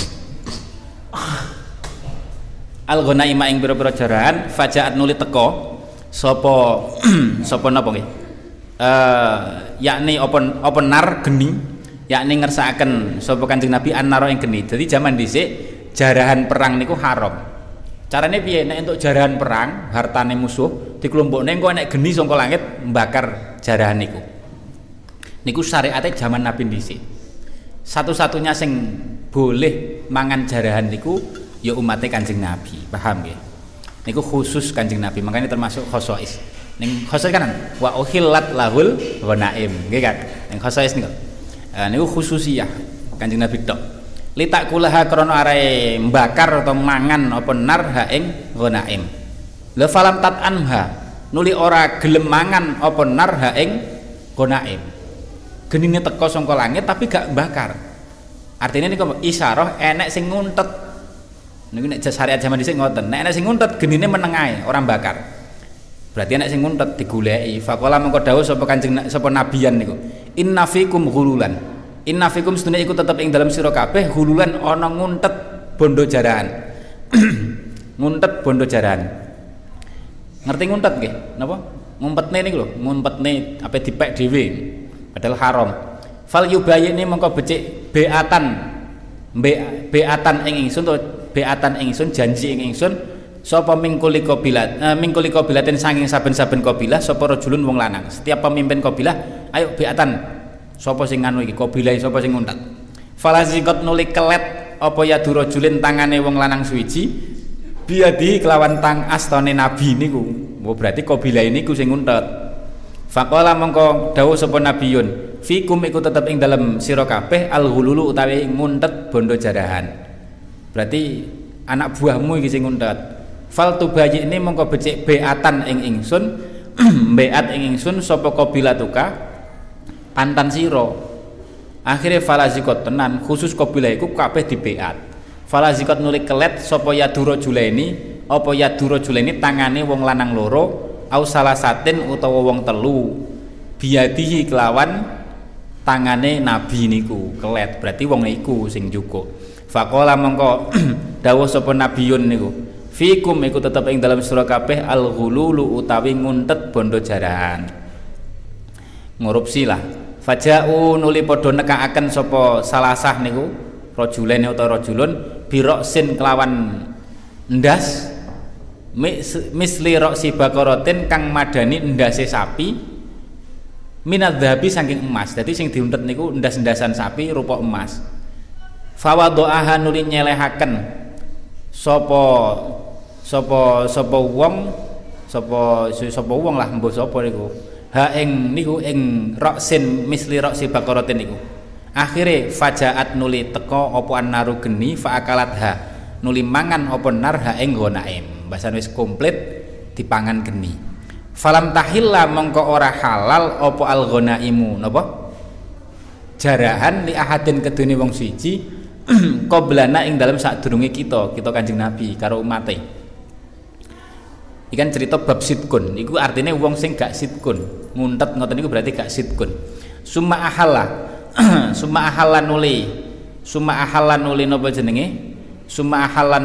al-ghanaima ing pira-pira jarahan fajaat nuli teko sapa sapa napa nggih yakni openar geni yakni ngersakaken sapa Kanjeng Nabi annara ing geni. Jadi zaman dhisik jarahan perang niku haram. Carane piye nek entuk jarahan perang hartane musuh dikelompokne engko nek geni saka langit mbakar jarahan niku. Niku syariate zaman Nabi dhisik. Satu-satunya sing boleh mangan jarahan niku ya umatnya Kanjeng Nabi, paham nggih? Niku khusus Kanjeng Nabi, makanya termasuk khosois. Ning khosois kan wa uhillat lahul ghanaim, nggih kan? Ning khosois niku. Niku khususiyah Kanjeng Nabi tok. litakulaha krana arae mbakar atau mangan apa nar ha ing ghanaim. La falam tat'anha nuli ora gelem mangan apa nar ha ing ghanaim. Genine teko saka langit tapi gak bakar. Artinya niku isyarah enek sing nguntet. Niku nek syariat zaman dhisik ngoten. Nek enek sing nguntet genine meneng ae, ora bakar. Berarti enek sing nguntet digoleki. Faqala mengko dawuh sapa Kanjeng sapa nabiyan niku. Inna fikum ghululan. Inna fikum sedune iku tetep ing dalam sira kabeh ghululan ana nguntet bondo jarahan. Nguntet bondo jarahan. Ngerti nguntet nggih? Napa? Ngumpetne niku lho, ngumpetne ape dipek dhewe. Padahal haram. Fal yubayini mengko becik beatan ing ingsun to beatan ing ingsun janji ing ingsun sapa mingkuli qabilatin saking saben-saben qabilah sapa rajulun wong lanang. Setiap pemimpin qabilah ayo beatan sapa sing nganu iki qabilah sapa sing nguntet. Falazikot nuli kelet apa ya durajulin tangane wong lanang suwiji biadi kelawan tang astane nabi niku. Oh berarti qabilah niku sing nguntet. Faqala mongko dawuh sapa nabiyun fikum iku tetep ing dalem sira kabeh al-ghululu utawi nguntet bondo jarahan. Berarti anak buahmu iki sing nguntet. Fal tubayyi ini mongko becik beatan ing ingsun beat ing ingsun sapa qabilatuka pantan sira. Akhire falazikot tenan khusus qabilah iku kabeh dibeat. Falazikot nulik kelet sapa yadura julaini apa yadura julaini tangane wong lanang loro au salasatin utawa wong telu biadihi kelawan tangane nabi niku kelet berarti wong niku sing cukup. Faqala mongko dawuh sapa nabiyun niku fikum iku tetep ing dalam sira kabeh al-ghululu utawi nguntet bondo jarahan. Ngurupsi lah faja'u nuli padha nekakaken sapa salasah niku rajulen utawa rajulun biroksin kelawan ndas misli roksi bakaratin kang madani ndase sapi minadzahabi saking emas. Dadi sing diuntet niku ndas-ndasan sapi rupa emas. Fawadha'aha nuli nyelehaken sapa wong lah mbuh sapa niku ha ing niku ing roksin misli roksi bakaratin niku. Akhire fajaat nuli teka apa annaru geni faakalat ha nuli mangan apa nar ha ing ghanaim. Bahasan wis komplit dipangan geni. Falam tahilla mongko ora halal apa al ghanaimu napa jarahan li ahadin kedune wong siji qoblana ing dalem sadurunge kita Kanjeng Nabi karo umate. Ikan cerita bab sidkun iku artinya wong sing gak sidkun nguntet ngoten niku berarti gak sidkun. Summa ahalla nuli napa jenenge summa ahalla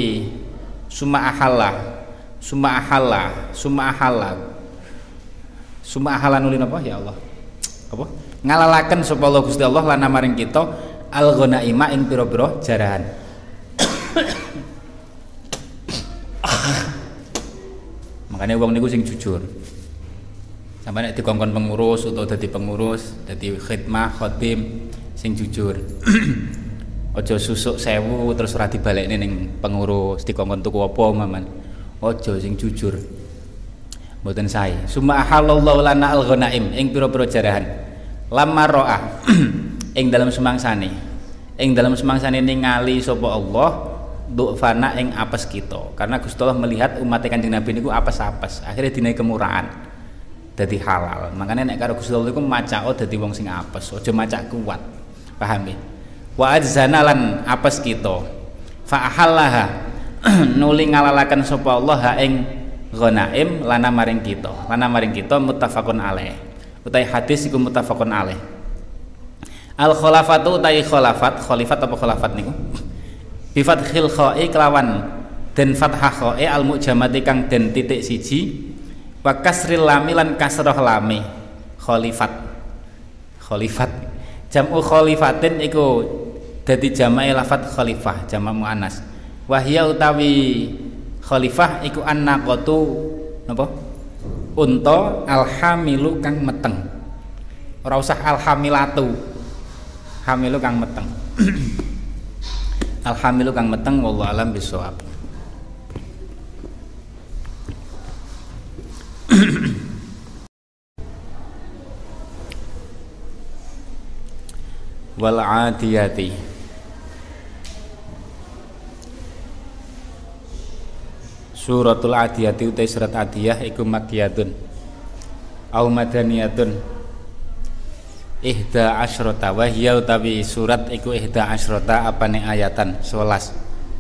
nuli napa ya Allah apa ngalalaken sapa Allah Gusti Allah lana maring kita al ghanaima ing pira-pira jarahan. Makanya wong niku sing jujur sampai nek dikongkon pengurus utawa dadi pengurus dadi khidmah khotim sing jujur. Ojo susuk 1000 terus ora dibalekne ning pengurus dikongkon tuku apa maman. Ojo sing jujur. Mboten sae. Summa halallahu lana al-ghanaim ing pira-pira jarahan. Lamma ro'ah ing dalam semangsane. Ing dalam semangsane ningali sapa Allah du'fana ing apes kita. Karena Gusti Allah melihat umat Kanjeng Nabi niku apes-apes. Akhirnya dinai kemurahan. Dadi halal. Makanya nek karo Gusti Allah iku macak dadi wong sing apes, aja macak kuat. Paham ya? Wa adzana lan apes kita fa ahallaha nuli ngalalaken sapa Allah ha ing ghanaim lana maring kita muttafaqun alaih utai hadis iku muttafaqun alaih. Al khulafatu utai khalifat apa khalafat niku bi fathil kha'i kelawan den fathah kha'i al mujamati kang den titik siji wa kasril lam lan kasrah lame khalifat jamu khalifatin iku dadi jamae lafat khalifah jamak muannas. Wahya utawi khalifah iku annaqatu napa? Unta alhamilu kang meteng. Ora usah alhamilatu. Hamilu kang meteng. Alhamilu kang meteng wallahu alam bisawab. Wal adiyati Suratul Adiyati utai surat Adiyah iku makkiyatun au madaniyatun ihda asyrota wa hiya utawi surat iku ihda asyrota apane ayatan 11.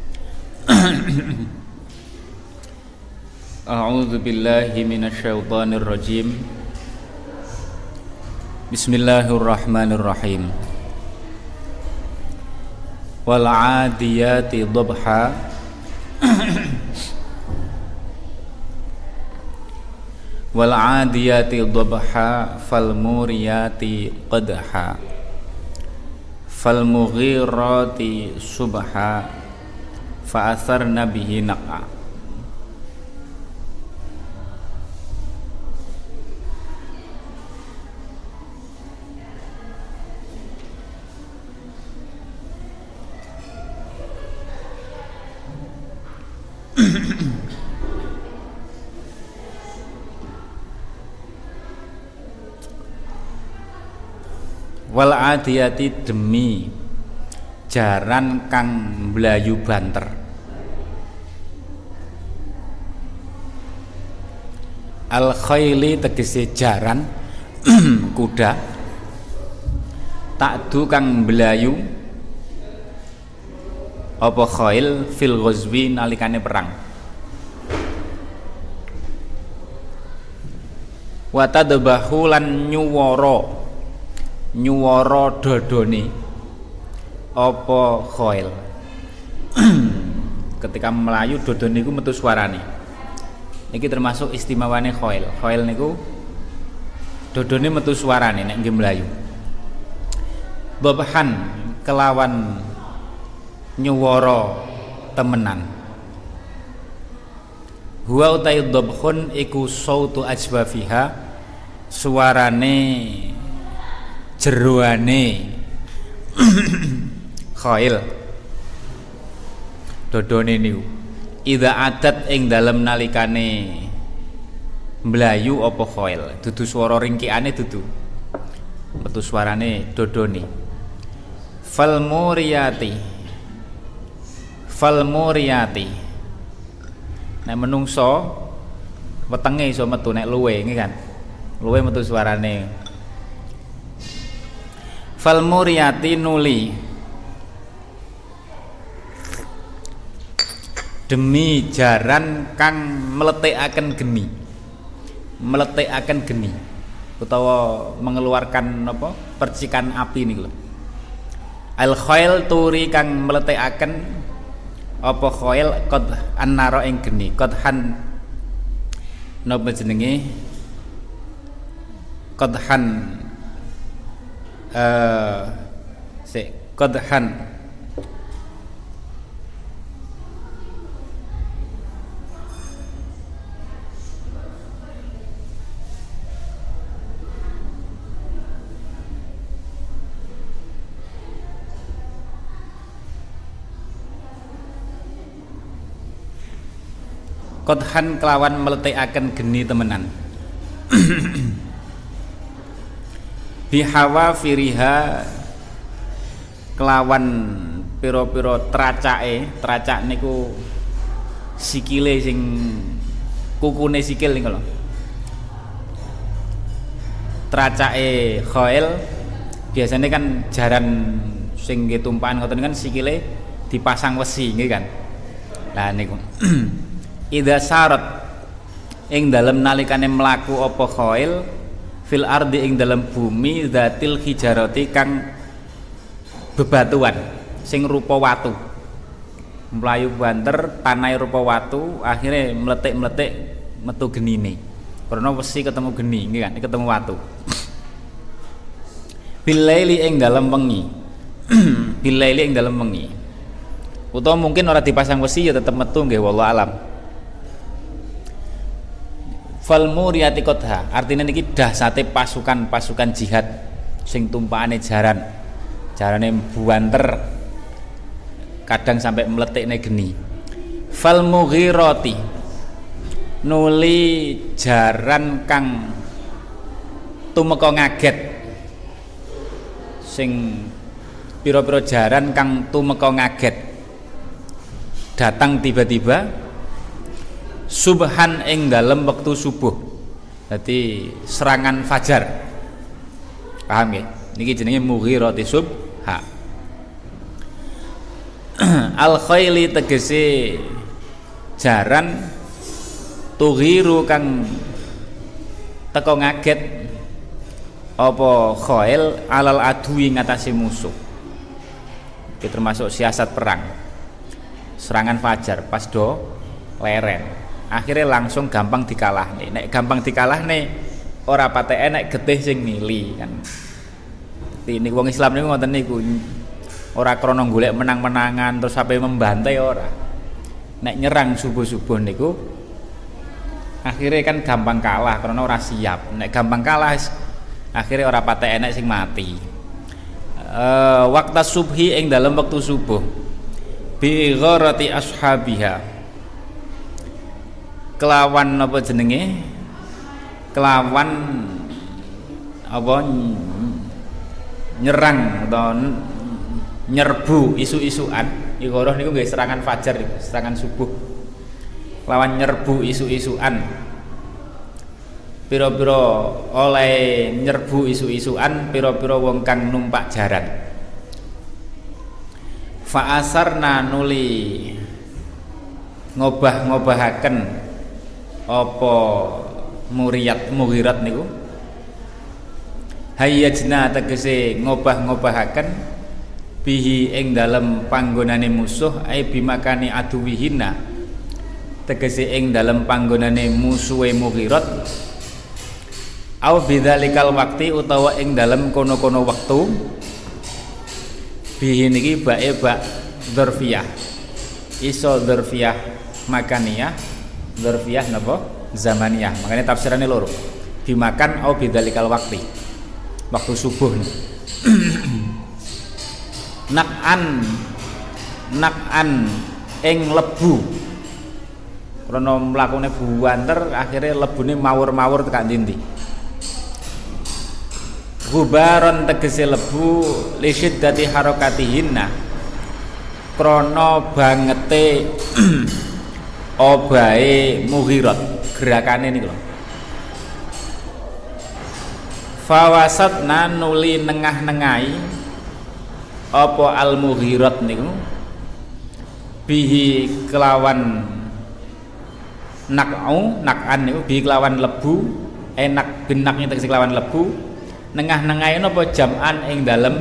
A'udzu billahi minasyaitonir rajim. Bismillahirrahmanirrahim. Wal 'adiyati dhabha wal 'adiyati dhabha fal muriyati qadha fal mughirati subha fa atharna bihi naqa. Wal adiyati demi jaran kang mblayu banter. Al khayli tegese jaran kuda takdu kang mblayu apa khail fil ghazwi nalikane perang. Wa tadbahu lan nyuwara dodone apa khail. Ketika melayu dodone iku metu suarane. Iki termasuk istimewane khail. Khail niku dodone metu suarane nek nggih melayu. Babhan kelawan nyuwara temenan. Huwa utai dhabhun iku sautu ajwafiha suarane jeroane khail dodone niku idza adat ing dalem nalikane mlayu apa khail dudu swara ringkikane dudu metu suarane dodone. Fal muriyati nek menungso wetenge iso metu nek luwe nggih kan luwe metu suarane. Fal muriyati nuli demi jaran kang meletikaken geni utawa mengeluarkan apa percikan api niku lho. Al khail turi kang meletikaken apa khail qad annara ing geni qadhan napa jenenge qadhan qadhan qadhan kelawan meletikaken geni temenan. Bihawa firiha kelawan pira-pira tracak niku sikile sing kukune sikil niku lho. Tracake khail biasanya kan jaran sing nggih tumpakan ngoten kan sikile dipasang wesi nggih kan. Lah niku idza sarat ing dalem nalikane mlaku apa khail fil ardi ing dalam bumi zatil hijarati kang bebatuan sing rupa watu mlayu banter tanah rupa watu akhirnya meletik metu genine karena wesi ketemu geni nggih kan ketemu watu. Bilaili ing dalam wengi bilaili ing dalam wengi utawa mungkin ora dipasang wesi ya tetep metu nggih wallahu alam. Fal muriyati qadha artinya niki dahsate pasukan jihad sing tumpakane jarane buanter kadang sampai meletikne geni. Fal mughirati nuli jaran kang tumeka ngaget sing pira-pira jaran kang tumeka ngaget datang tiba-tiba subhan ing dalem wektu subuh. Dadi serangan fajar. Paham nggih? Niki jenenge mughirati subha. Al khaili tegese jaran tughiru kang teko ngaget apa khail alal adui ngatasi musuh. Iki termasuk siasat perang. Serangan fajar pas do leren. Akhirnya langsung gampang dikalahne. Nek gampang dikalahne ora patek enek getih sing mili kan. Ini wong Islam niku ngoten niku. Ora krana golek menang-menangan terus sampai membantai ora. Nek nyerang subuh-subuh niku akhirnya kan gampang kalah karena ora siap. Nek gampang kalah akhirnya ora patek enek sing mati. Waktu subhi ing dalam waktu subuh bi gharati ashabiha kelawan apa jenenge kelawan apa nyerang atau nyerbu isu-isuan ighorah niku nggih serangan fajar serangan subuh lawan nyerbu isu-isuan pira-pira oleh nyerbu isu-isuan pira-pira wong kang numpak jaran fa asarna nuli ngobah-ngobahaken apa mughirat niku hayyajna tegese ngobah-ngobahaken bihi ing dalem panggonane musuh ai bimakani aduwihina tegese ing dalem panggonane musuhe mughirat au bidzalikal waqti utawa ing dalem kono-kono wektu bihi niki bae bak dzarfiyah iso dzarfiyah makaniyah dzarfiyah napa zamaniyah makanya tafsirannya loro dimakan au bidzalikal waqti waktu subuh nak'an ing lebu krana mlakune buwanter akhirnya lebune mawur-mawur tekan ndi gubaron tegese lebu li syiddati harakatihinna krana bangete obahe mughirat gerakane niku lho fawasatna nuli nengah-nengahi apa al mughirat niku bihi kelawan nak'an niku bihi kelawan lebu enak benaknya tegese kelawan lebu nengah-nengahi napa jam'an ing dalem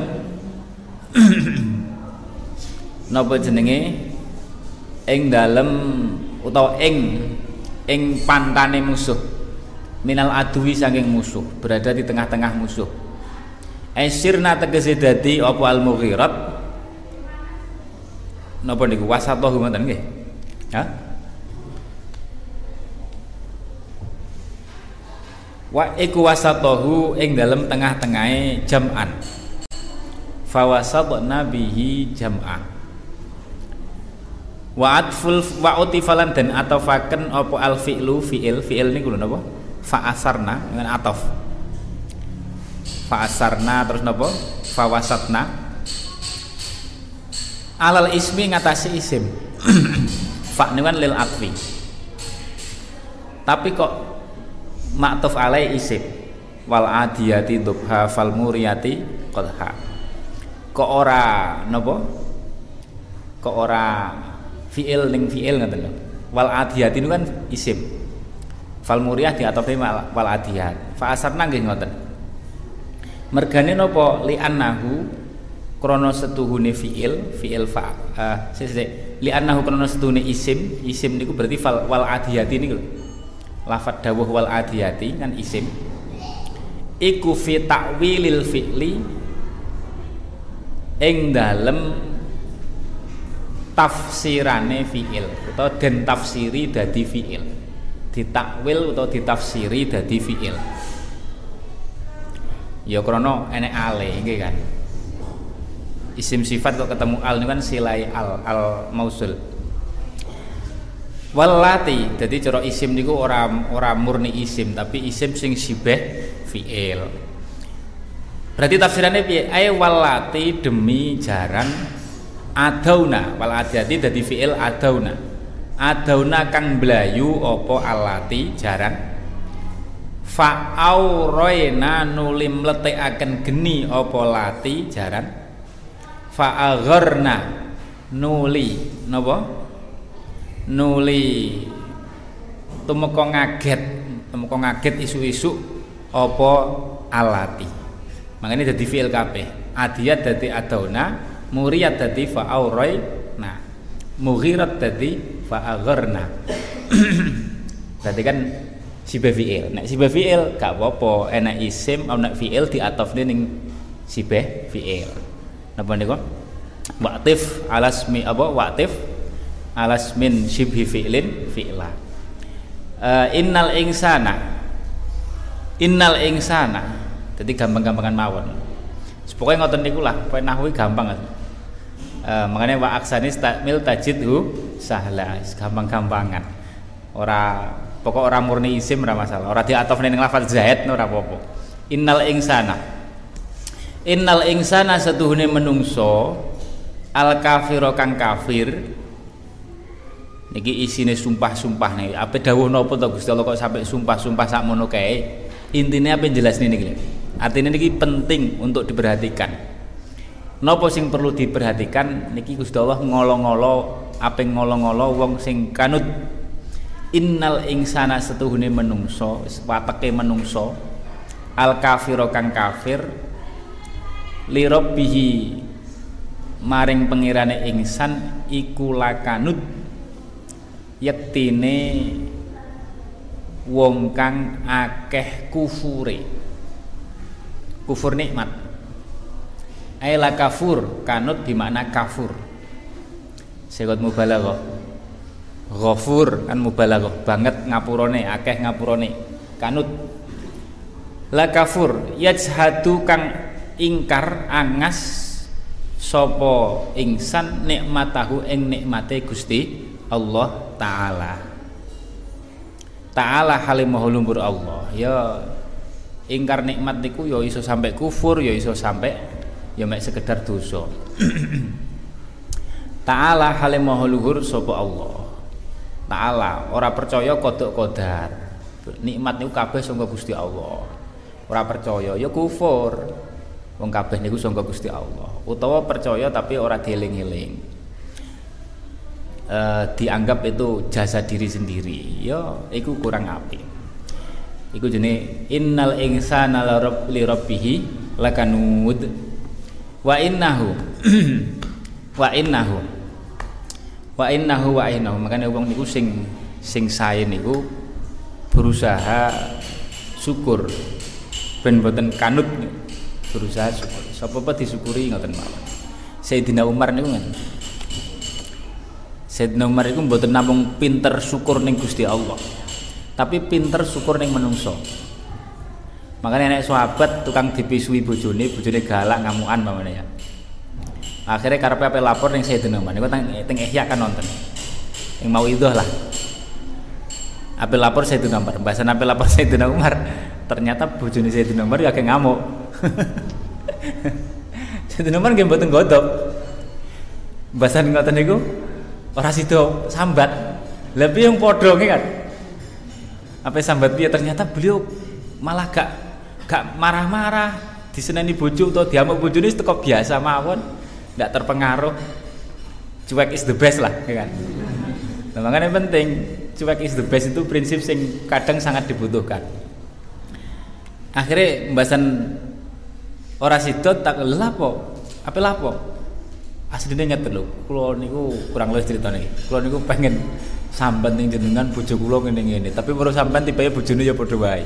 napa jenenge ing dalem utawa ing pantane musuh minal adwi saking musuh berada di tengah-tengah musuh sirna tegese dadi apa al mughirat napa niku wasatohu ngoten nggih ha wa iku wasatohu ing dalem tengah-tengahe jam'an fawasatna bihi jam'a wa atful wa utifalan dan atafaken apa al fi'lu fi'il niku lho napa fa'asarna dengan ataf fa'asarna terus napa fawasatna alal ismi ngatasi isim fa niku kan lil atfi tapi kok ma'tuf alai isim wal adiyati dhubha fal muriyati qadha kok ora napa kok ora fi'il ning fi'il ngoten lho wal adiyati niku kan isim fal muriyah di atafi wal adiyat fa asarna nggih ngoten mergane napa li annahu krana setuhune fi'il fa li annahu krana setuhune isim niku berarti wal adiyati niku lho lafadz dawuh wal adiyati kan isim iku fi ta'wilil fi'li ing dalem tafsirane fi'il utawa den tafsiri dadi fi'il ditakwil utawa ditafsiri dadi fi'il ya krana enek ale nggih kan isim sifat kok ketemu al niku kan silai al mausul walati jadi cara isim niku ora murni isim tapi isim sing sibeh fi'il berarti tafsirannya piye ay walati demi jaran adauna wal adiyati dadi fi'il adauna adauna kang blayu apa alati jaran fa aurayna nuli mletekaken geni apa lati jaran fa agharna nuli napa nuli tumeka ngaget isu-isu apa alati makanya dadi fi'il kabeh adiyat dadi adauna muriyat dadi fa aurayna mughirat dadi fa agharna berarti kan sibah fi'il nek sibah fi'il gak apa-apa enak isim ana fi'il diatofne ning sibah fi'il napa niku waqtif alasmi apa waqtif alasmin shibhi fi'lin fi'la innal insana jadi gampang-gampangan mawon pokoknya ngoten niku lah pokoke nahwi gampang makanya wa aksani stamil tajidhu sahla gampang-gampangan ora pokok ora murni isim ora masalah ora diatofne ning lafal zaid ora apa-apa innal insana setuhune menungso al kafiro kang kafir niki isine sumpah-sumpah nih ape dawuh napa to Gusti Allah kok sampai sumpah-sumpah sakmono kae intine ape jelasne niki artinya niki penting untuk diperhatikan napa sing perlu diperhatikan niki Gusti Allah ngolo-ngolo ape ngolo-ngolo wong sing kanut innal insana setuhune menungso wateke menungso al kafiro kang kafir li rabbihi maring pengirane ingsan iku lakanut yektine wong kang akeh kufur nikmat la kafur kanut bermakna kafur segot mubalaghah ghafur kan mubalaghah banget ngapurane akeh ngapurane kanut la kafur yajhadu kang ingkar angas sapa ingsan nikmatahu ing nikmate Gusti Allah taala halimah lumpur Allah ya ingkar nikmat niku ya iso sampai kufur ya iso sampai ya mek sekedar dosa taala halimah luhur sapa Allah taala ora percaya kodok kodar nikmat niku kabeh saka Gusti Allah ora percaya ya kufur wong kabeh niku saka Gusti Allah utawa percaya tapi ora dieling-eling dianggap itu jasa diri sendiri ya iku kurang apik iku jenenge innal insana li rabbih lakanud wa innahu makanya wong niku sing sae niku berusaha syukur ben mboten kanut berusaha syukur sapa disyukuri ngoten mawon Sayyidina Umar niku ngoten Sayyidina Umar iku mboten namung pinter syukur ning Gusti Allah tapi pinter syukur ning menungso makanya nek sahabat tukang dipisui bojone galak ngamukan mamane ya akhirnya karepe ape lapor ning Sayyidina Umar niku teng Ihya kan nonton yang mau itu lah ape lapor Sayyidina Umar bahasan ape lapor Sayyidina Umar ternyata bojone Sayyidina Umar agak ngamuk Sayyidina Umar nggih mboten godhop bahasan ngoten niku ora sida sambat lha piye yang padha kan ape sambat piye ternyata beliau malah gak marah-marah diseneni bojo utawa diamuk bojone wis teko biasa mawon ndak terpengaruh cuek is the best lah ya kan nah, makanya penting cuek is the best itu prinsip sing kadang sangat dibutuhkan akhirnya pembahasan ora sidot tak lapo apa lapo asline nyet lho kula niku kurang luwih critane kula niku pengen sambat ning jenengan bojo kula ngene-ngene tapi baru sampean tibae bojone ya padha wae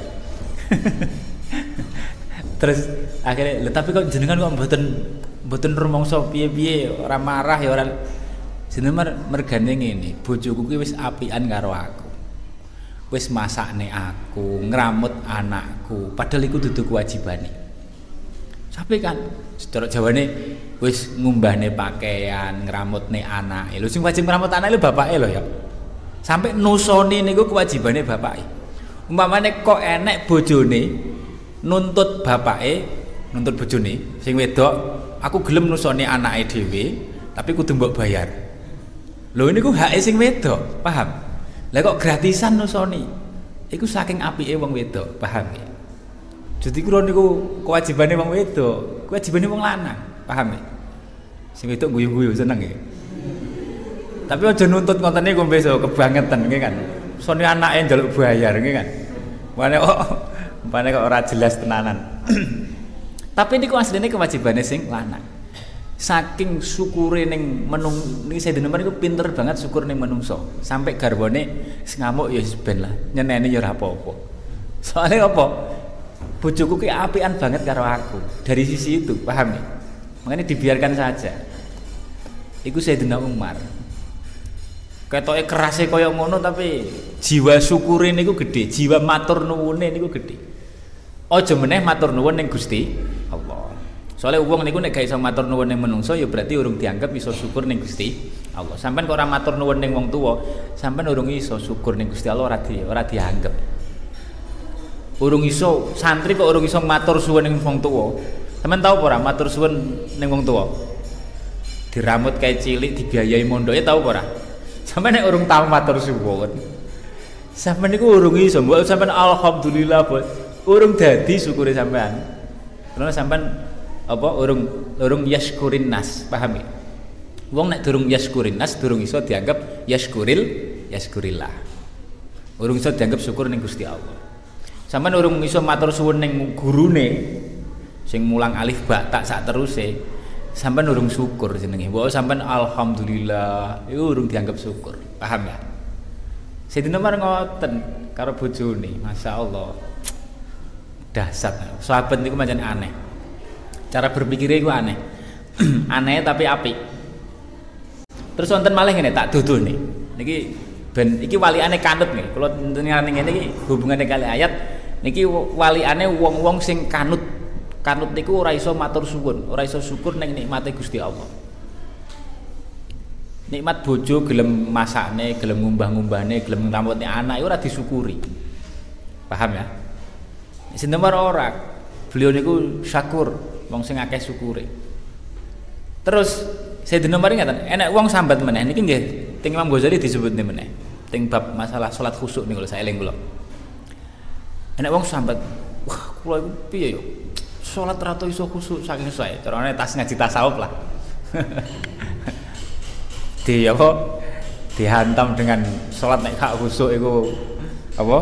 terus akhirnya tapi kok jenengan kok mboten rumangsa piye-piye ora marah ya ora jenengan mergane ngene bojoku kuwi wis apian karo aku wis masakne aku ngramut anakku padahal iku dudu kewajibane sampe kan secara Jawane wis ngumbahne pakaian ngramutne anake lho sing wajib ngramut anake lho bapake lho ya sampai nusoni niku kewajibane bapake umpamane kok enek bojone nuntut bapake nuntut bojone sing wedok aku gelem nusoni anake dhewe tapi kudu mbok bayar Lho niku hake sing wedok, paham? Lah kok gratisan nusoni? Iku saking apike wong wedok, paham ya? Jadi kula niku kewajibane wong wedok, kewajibane wong lanang, paham ya? Sing wedok guyu-guyu seneng ya. Tapi aja nuntut ngoten niku besok kebangetan nggih kan. Sone anake njaluk bayar nggih kan. Mpane kok ora jelas tenanan. Tapi niku asline kewajibane sing lanang. Saking syukure ning niki Sayyidina Umar niku pinter banget syukur ning menungso. Sampai garwane ngamuk ya ben lah, nyeneni ya ora apa-apa. Soale apa? Bojoku ki apian banget karo aku. Dari sisi itu, paham ya? Makanya dibiarkan saja. Iku Sayyidina Umar. Ketoke kerase kaya ngono tapi jiwa syukure niku gede, jiwa matur nuwune niku gede. Aja meneh matur nuwun ning Gusti Allah. Soalnya wong niku nek gak iso matur nuwun ning menungso ya berarti urung dianggap iso syukur ning Gusti Allah. Sampeyan kok ora matur nuwun ning wong tuwa, sampeyan urung iso syukur ning Gusti Allah, ora dianggap. Urung iso santri kok urung iso matur suwun ning wong tuwa. Sampeyan tau apa ora matur suwun ning wong tuwa? Diramut kayak cilik, dibiayai mondoke tau apa ora? Sampeyan nek urung tau matur suwun. Sampeyan niku urung iso, mbok sampeyan alhamdulillah, Bos. Urung dadi syukure sampeyan. Karena sampeyan apa urung yaskurin nas, paham ya? Wong nek durung yaskurin nas durung iso dianggap yaskurillah. Urung iso dianggap syukur ning Gusti Allah. Sampeyan urung iso matur suwun ning gurune sing mulang alif ba tak sak teruse, sampeyan urung syukur jenenge. Mbok sampeyan alhamdulillah, iku urung dianggap syukur. Paham ya? Sayyidina Umar ngoten karo bojone, masyaallah. Dahsyat. Sahabat niku pancen aneh. Cara berpikirnya itu aneh. Aneh tapi apik. Terus wonten malih ngene tak dudul nih. Niki ben iki waliane kanut nggih. Kula ngenani ngene iki hubungane kali ayat niki waliane wong-wong sing kanut. Kanut niku ora iso matur suwun, ora iso syukur ning nikmate Gusti Allah. Nikmat bojo gelem masakne, gelem ngumbah-ngumbahne, gelem ngramutne anak iku ora disyukuri. Paham ya? Sayyidina Umar ora. Beliau niku syakur, wong sing akeh syukure. Terus Sayyidina Umar ngaten, enek wong sambat meneh niki nggih teng Imam Ghazali disebutne meneh. Teng bab masalah salat khusyuk niku lho saeling kula. Enek wong sambat, wah kula iku piye yo? Salat ra iso khusyuk saking sae. Carane tas ngaji tasawuf lah. Dihantam dengan salat nek gak khusyuk iku apa?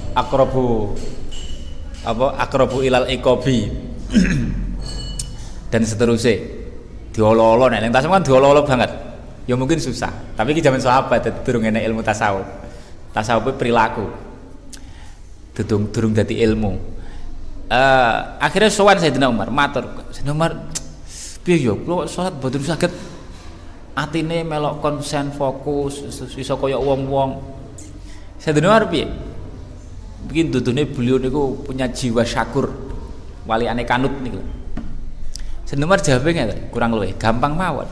Akrabu ilal iqabi dan seterusnya. Diolo-olo nek ning tasawuf kan diolo-olo banget. Ya mungkin susah, tapi iki zaman sahabat durung enek ilmu tasawuf. Tasawuf perilaku. Durung dadi ilmu. Akhirnya sowan Sayyidina Umar, matur. Sayyidina Umar, piye yo kula salat boten saged atine melok konsen fokus iso kaya wong-wong. Sayyidina Umar piye? Bikin dudune beliau niku punya jiwa syakur, wali ane kanut niku. Sayyidina Umar jawabe ngeten, kurang luwih gampang mawon.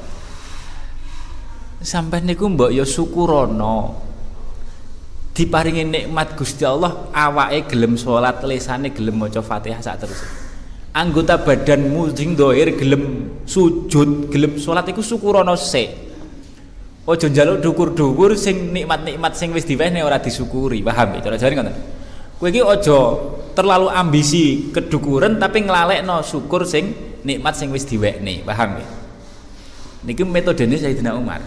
Sampai niku mbok ya syukurono. Diparingi nikmat Gusti Allah, awake gelem salat, lisane gelem maca Fatihah sak terus. Anggota badanmu sing dhahir gelem sujud, gelem salat iku syukurono sik. Aja njaluk dhukur-dhukur sing nikmat-nikmat sing wis diwehne ora disyukuri, paham ya? Cara jare ngoten. Kowe iki aja terlalu ambisi kedukuran tapi nglalekno syukur sing nikmat sing wis diwekne, paham ya? Niki metodene Sayyidina Umar.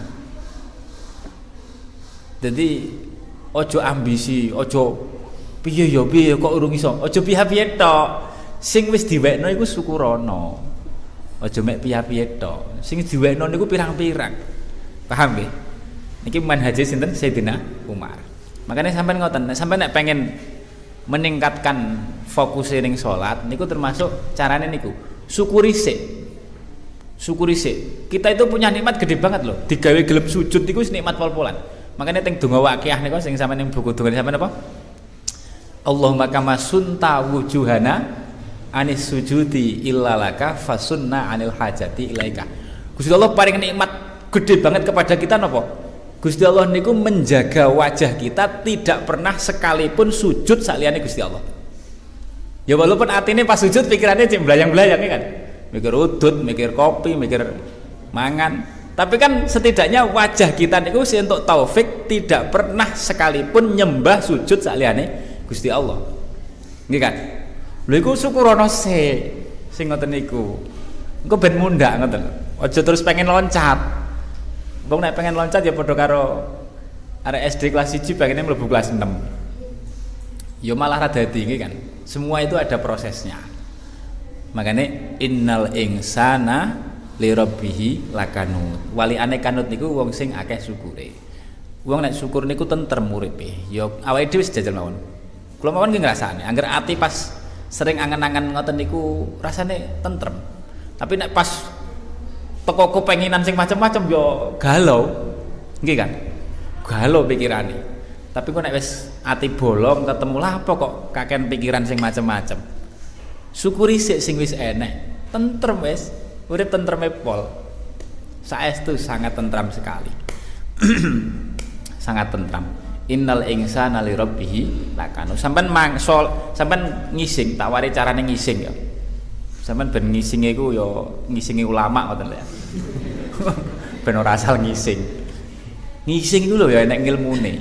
Jadi aja ambisi, aja piye ya piye kok urung iso. Aja piye-piye tok. Sing wis diwekno iku syukurono. Aja mek piye-piye tok. Sing diwekno niku pirang-pirang. Paham nggih? Niki manhaje sinten Sayyidina Umar. Makanya sampean ngoten, sampean nek pengen meningkatkan fokus ning salat niku termasuk carane niku. Syukuri sik. Syukuri sik. Kita itu punya nikmat gede banget loh. Digawe gelem sujud niku nikmat pol-polan. Makanya teng donga waqiah niku sing sampean ning buku donga sampean apa? Allahumma kama sunta wujuhana anis sujudi illalaka fasunna anil hajati ilaika. Gusti Allah paring nikmat gede banget kepada kita napa? Gusti Allah niku menjaga wajah kita tidak pernah sekalipun sujud saliyane Gusti Allah. Ya walaupun atine pas sujud pikirannya cek blayang-blayang kan. Mikir udut, mikir kopi, mikir mangan. Tapi kan setidaknya wajah kita niku sih untuk taufik tidak pernah sekalipun nyembah sujud saliyane Gusti Allah. Nggih kan? Lho iku syukurono sing ngoten niku. Engko ben mundhak ngoten. Aja terus pengen loncat. Wong nek pengen loncat ya padha karo arek SD kelas 1 pengen mlebu kelas 6. Ya malah rada tinggi kan. Semua itu ada prosesnya. Makanya innal insana li rabbih lakanut. Waliane kanut niku wong sing akeh syukure. Wong nek syukur niku tentrem uripe. Ya awake dhewe wis jajal mawon. Kula mawon nggih ngrasakne, angger ati pas sering angen-angen ngoten niku rasane tentrem. Tapi nek pas teko kepenginan sing macam-macam yo galau. Nggih kan? Galau pikirane. Tapi kok nek wis ati bolong ketemu lah apa kok kakean pikiran sing macam-macam. Syukuri sing wis enek. Tentrem wis, urip tentreme pol. Saestu sangat tentram sekali. Sangat tentram. Innal insana li rabbih lakanu. Sampeyan sampeyan ngising, tak wari carane ngising ya. Sampeyan ben ngisinge iku ya ngisingi ulama ngoten lho ya. Ben ora asal ngising. Ngising iku lho ya enek ngilmune.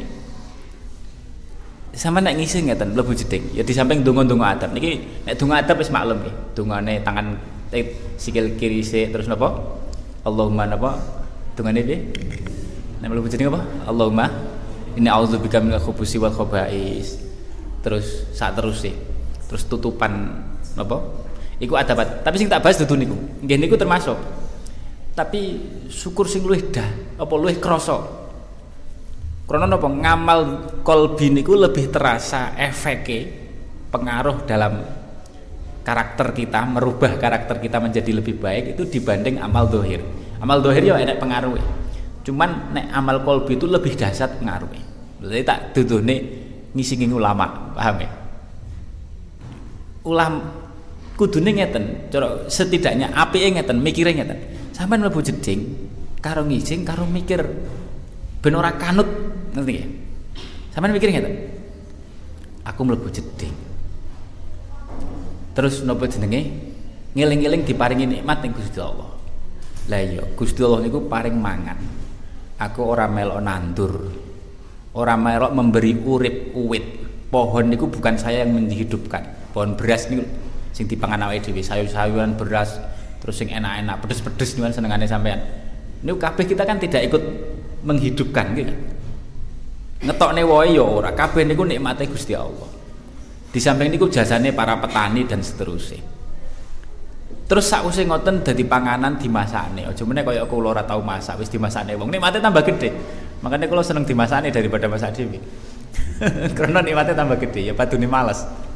Sampeyan nek ngising ngeten mlebu jeding, ya di samping donga-donga adab. Niki nek donga adab wis maklum nggih. Dongane tangan sikil kiri sik terus napa? Allahumma napa? Dongane piye? Nek mlebu jeding apa? Allahumma inni a'udzubika minal khubuthi wal khaba'is. Terus sak terus sih. Terus tutupan napa? Iku adabat. Tapi sing tak bahas dudu niku. Nggih niku termasuk. Tapi syukur sing luwih apa luwih krasa. Karena napa ngamal kolbi niku lebih terasa efeke pengaruh dalam karakter kita, merubah karakter kita menjadi lebih baik itu dibanding amal dohir. Amal dohir ya enak pengaruhnya. Cuman nek amal kolbi itu lebih dahsyat pengaruhnya. Berarti tak dudune ngisingi ulama, paham ya? Kudune ngeten, cara setidaknya apike ngeten, mikire ngeten. Sampeyan mlebu jeding karo ngising karo mikir ben ora kanut, ngerti ya? Sampeyan mikir ngeten. Aku mlebu jeding. Terus napa jenenge? Ngeling-eling diparingi nikmat ning Gusti Allah. Lah iya, Gusti Allah niku paring mangan. Aku ora melok nandur. Ora melok memberi urip uwit. Pohon niku bukan saya yang menghidupkan. Pohon beras niku sing dipangan awake dhewe, sayur-sayuran beras, terus sing enak-enak, pedes-pedes niku senengane sampean. Niku kabeh kita kan tidak ikut menghidupkan gitu. Ngetokne wae ya ora, kabeh niku nikmate Gusti Allah. Di samping niku jasane para petani dan seterusnya. Terus sakwise ngoten dadi panganan dimasakne. Aja meneh kaya kula ora tau masak, wis dimasakne wong. Nikmate tambah gede. Makanya kula seneng dimasakne daripada masak dhewe. Karena nikmate tambah gede, ya padune males.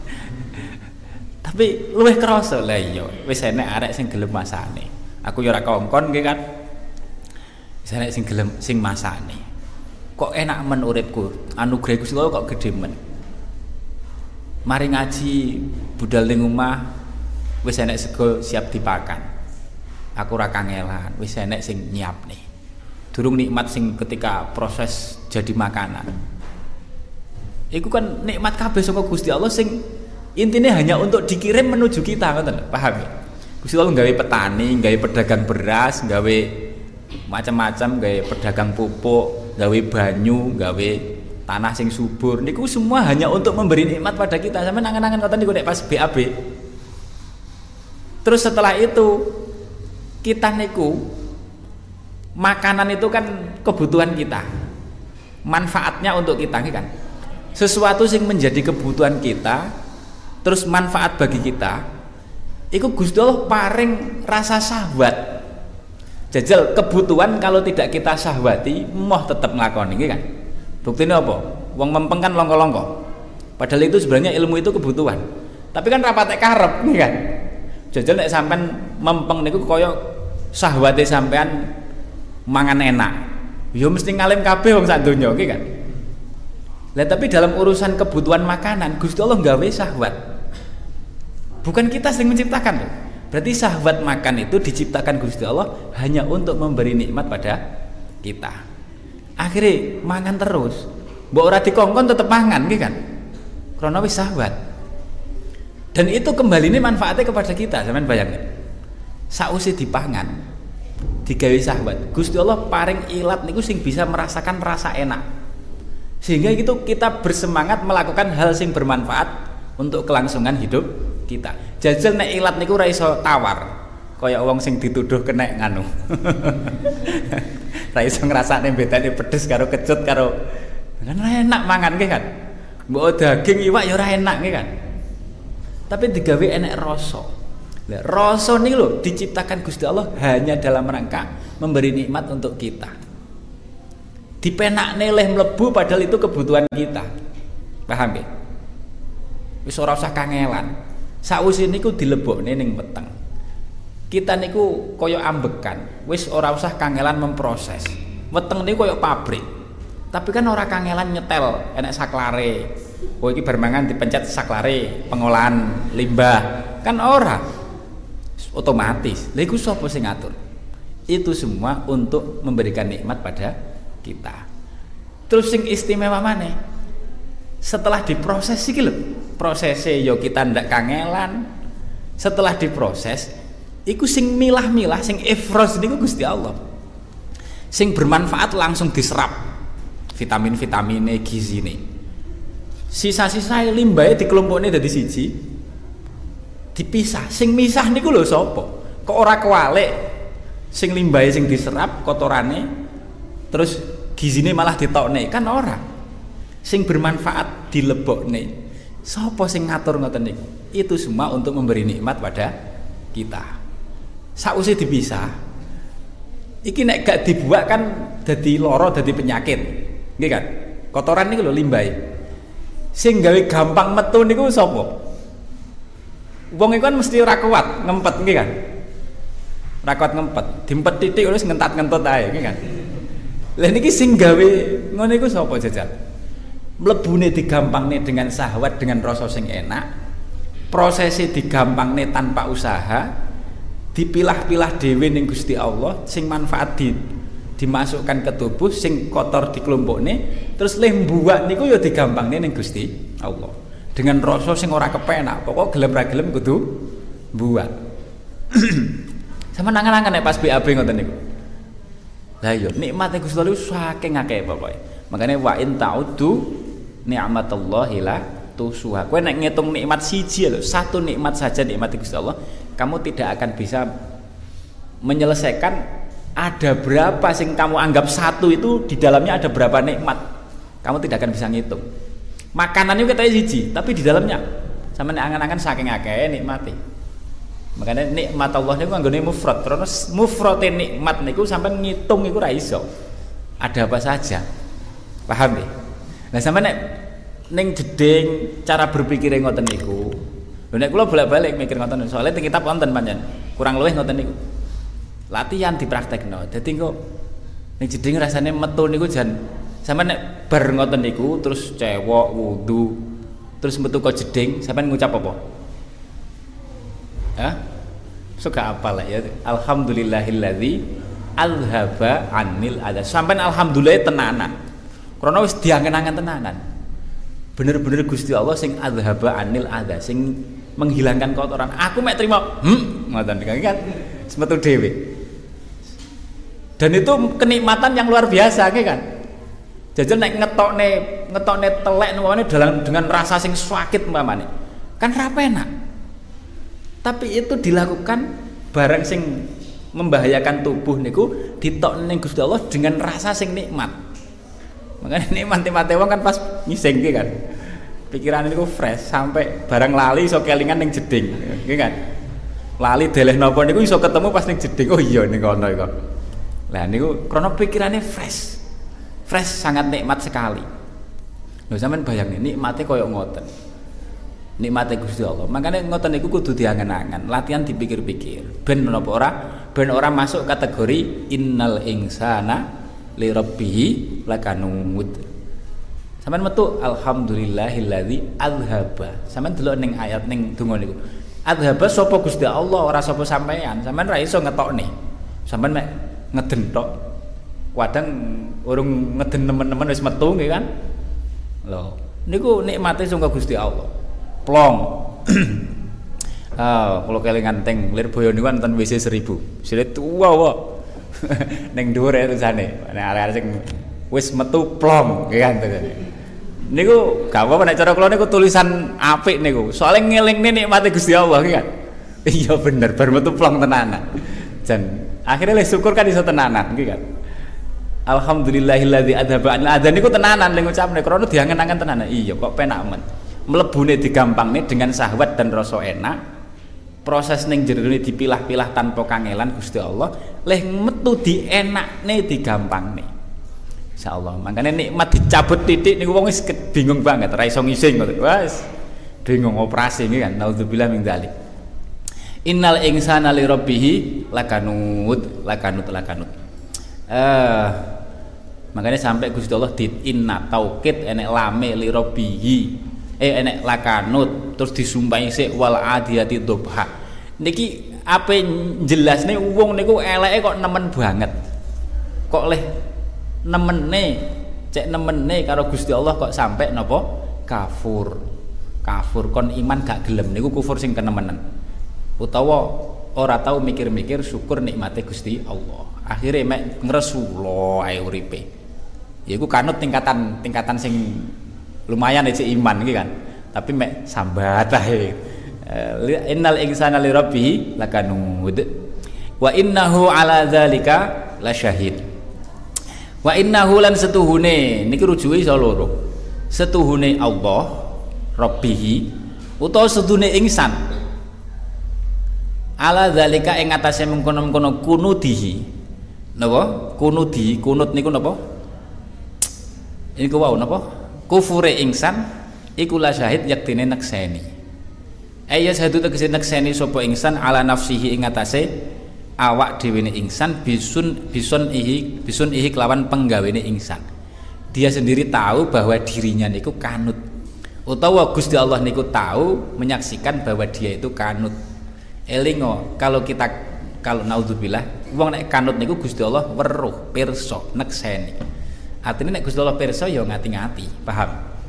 Tapi luwih krasa lah iya, wis enek arek sing gelem masakne. Aku ya ora kongkon nggih kan. Wis enek sing gelem sing masakne. Kok enak men uripku, anugerah Gusti Allah kok gedhe men. Mari ngaji budal ning omah wis enek sego siap dipakan. Aku ora kangelan, wis enek sing nyiapne. Durung nikmat sing ketika proses jadi makanan. Iku kan nikmat kabeh saka Gusti Allah sing intinya hanya untuk dikirim menuju kita, ngoten, paham ya? Gusti Allah gawe petani, gawe pedagang beras, gawe macam-macam, gawe pedagang pupuk, gawe banyu, gawe tanah sing subur. Niku semua hanya untuk memberi nikmat pada kita. Sampe nangan-nangan ngoten niku nek pas BAB. Terus setelah itu kita niku makanan itu kan kebutuhan kita. Manfaatnya untuk kita kan. Sesuatu yang menjadi kebutuhan kita terus manfaat bagi kita. Iku Gusti Allah paring rasa syahwat. Jajal kebutuhan kalau tidak kita syahwati moh tetap nglakoni kan. Buktinya apa? Wong mempeng kan longko-longko. Padahal itu sebenarnya ilmu itu kebutuhan. Tapi kan rapatek karep nih kan. Jajal nek sampean mempeng niku kaya syahwate sampean mangan enak. Ya mesti ngalim kabeh wong sak donya iki kan. Lah tapi dalam urusan kebutuhan makanan Gusti Allah gawe syahwat. Bukan kita yang menciptakan loh. Berarti syahwat makan itu diciptakan Gusti Allah hanya untuk memberi nikmat pada kita. Akhirnya mangan terus. Mbok ora dikongkon tetep mangan iki kan. Krana wis syahwat. Dan itu kembali ini manfaatnya kepada kita, sampean bayangin. Sausé dipangan. digawe syahwat. Gusti Allah paring ilat niku sing bisa merasakan rasa enak. Sehingga itu kita bersemangat melakukan hal sing bermanfaat untuk kelangsungan hidup kita. Jajal nek ilat niku ora iso tawar. Kaya wong sing dituduh kena nganu. Ra iso ngrasakne bedane pedes karo kecut karo kan enak mangan nggih kan. Mbok daging iwak ya ora enak nggih kan. Tapi digawe enek rasa. Lah rasa niku lho diciptakan Gusti Allah hanya dalam rangka memberi nikmat untuk kita. Dipenakne leh mlebu padahal itu kebutuhan kita. Paham nggih? Wis ora usah kangelan. Sakwise niku dilebokne ning weteng. Kita niku kaya ambekan, wis ora usah kangelan memproses. Weteng niku kaya pabrik. Tapi kan ora kangelan nyetel, enek saklare. Oh iki bar mangan dipencet saklare, pengolahan limbah. Kan ora. Otomatis. Lha iku sapa sing ngatur? Itu semua untuk memberikan nikmat pada kita. Terus sing istimewa maneh setelah diproses iki lho, prosese yo kita ndak kangelan. Setelah diproses iku sing milah-milah sing ifros niku Gusti Allah. Sing bermanfaat langsung diserap vitamin-vitamine, gizine. Sisa-sisa limbahe dikelompokne dadi siji. Dipisah. Sing misah niku lho sapa? Kok ora kewalik? Sing limbahe sing diserap kotorane terus gizine malah ditokne kan ora. Sing bermanfaat dilebokne. Sapa sing ngatur ngoten niku? Itu semua untuk memberi nikmat pada kita. Sakwise dipisah. Iki nek gak dibuak kan dadi lara, dadi penyakit. Nggih kan? Kotoran niku lho limbahe. Sing gawe gampang metu niku sapa? Wong iku kan mesti ora kuat ngempet nggih kan? Ora kuat ngempet, diempet titik terus ngentat-ngentot ae nggih kan? Lah niki sing gawe ngono iku sapa jajal? Mlebune digampangne dengan syahwat dengan rasa sing enak. Prosese digampangne tanpa usaha. Dipilah-pilah dhewe ning Gusti Allah, sing manfaat dimasukkan ke tubuh, sing kotor dikelompokne, terus leh mbuak niku ya digampangne ning Gusti Allah. Dengan rasa sing ora kepenak, pokok gelem ra gelem kudu mbuak. Sama nangan-nangan nek pas BAB ngoten niku. Lah iya nikmate Gusti Allah saking akeh pokoke. Makane wa in ta'uddu ni'matallahi la tusuha. Kowe nek ngitung nikmat siji lho, satu nikmat saja nikmat Gusti Allah, kamu tidak akan bisa menyelesaikan ada berapa sing kamu anggap satu itu di dalamnya ada berapa nikmat. Kamu tidak akan bisa ngitung. Makanan itu katanya siji, tapi di dalamnya sama nek angan-angan saking akeh nikmate. Makanya nikmat Allah niku anggone mufrad. Terus mufrate nikmat niku sampean ngitung iku ra iso. Ada apa saja. Paham nggih? Nah sampean nek ning jeding cara berpikire ngoten niku. Lho nek kula bolak-balik mikir ngoten soalnya teng kitab wonten pancen. Kurang luwih ngoten niku. Latihan dipraktekno. Dadi engko ning jeding rasane metu niku jan sampean nek bar ngoten niku terus cewek wudu terus metu kok jeding sampean ngucap apa? Ya, suka apa lah ya. Alhamdulillahilladzi alhaba anil adha. Sampai alhamdulillah tenanan. Karena wis diangen-angen tenanan. Bener-bener Gusti Allah sing alhaba anil adha, sing menghilangkan kotoran. Aku mek trimo, ngoten kan semetu dhewe. Dan itu kenikmatan yang luar biasa nggih kan. Jajal nek ngetokne telek nuwane dengan rasa sing sakit umpamane. Kan ra enak. Tapi itu dilakukan barang sing membahayakan tubuh niku ditokne ning Gusti Allah dengan rasa sing nikmat. Makanya nikmat-nikmate wong kan pas ngising kan. Pikiran niku fresh sampai barang lali iso kelingan ning jeding, nggih kan. Lali deleh napa niku iso ketemu pas ning jeding. Oh iya ning kono iku. Lah niku krana pikirane fresh. Fresh sangat nikmat sekali. Lho sampean bayangin nikmate koyo ngoten. Nikmate Gusti Allah. Makanya ngoten niku kudu diangen-angen, latihan dipikir-pikir. Ben menapa ora? Ben ora masuk kategori innal insana li rabbih lakanut. Sampeyan metu alhamdulillahilladzi alhaba. Sampeyan delok ning ayat ning donga niku. Alhaba sapa Gusti Allah ora sapa sampeyan. Sampeyan ra iso ngetokne. Sampeyan mek ngeden tok. Kadang urung ngeden nemen-nemen wis metu nggih kan. Lho, niku nikmate sangka Gusti Allah. Plong. Kalau kelingan teng Lirboyo niku wonten WC 1000. Silit wow. Ning dhuwur ya tulisane. Nek arek-arek sing wis metu plong kan tulisane. Niku gak apa-apa nek cara kula niku tulisan apik niku. Soale ngelingne nikmate Gusti Allah kan. Iya bener bar metu plong tenanan. Jan akhirnya le syukur kan iso tenanan iki kan. Alhamdulillahilladzi adzhaba anil adzan niku tenanan le ngucapne krana diangen-angen tenanan. Iya kok penak men. Mlebune digampangne dengan syahwat dan rasa enak. Proses ning jerone dipilah-pilah tanpa kangelan Gusti Allah, leh metu dienakne digampangne. Insyaallah. Makanya nikmat dicabut titik niku wong wis bingung banget, ora iso ngising kok. Wes bingung operasi iki kan. Nauzubillah min dzalik. Innal insana li rabbih lakanut. Makanya sampai Gusti Allah di inna taukid enek lame li rabbih. Enek lakanut terus disumpahi sik wal adiyati dhubha. Niki ape jelasne wong niku eleke kok nemen banget. Kok leh nemene cek nemene karo Gusti Allah kok sampai napa kafur kon iman gak gelem niku kufur sing kenemenan utawa ora tau mikir-mikir syukur nikmate Gusti Allah akhire mek ngresula ae uripe yaiku kanut tingkatan sing lumayan cek iman iki kan tapi mek sambat ae innal insana li rabbih lakanud wa innahu ala dzalika lasyahid. Wa innahu lan setuhune niki rujuke iso loro. Setuhune Allah Rabbih utawa setuhune ingsan. Ala zalika ing atase mengkono-mengkono kunudihi. Napa? Kunudi, kunut niku napa? Niku wau napa? Kufure ingsan iku la syahid yaktine nekseni. Aya satu tegese nekseni sapa ingsan ala nafsihi ing atase awak dhewene ingsan bison ihi kelawan penggawene ingsan. Dia sendiri tahu bahwa dirinya niku kanut. Utawa Gusti Allah niku tahu menyaksikan bahwa dia itu kanut. Elingo kalau naudzubillah wong nek kanut niku Gusti Allah weruh, pirsa, nekseni. Artine nek Gusti Allah pirsa ya ngati-ngati, paham?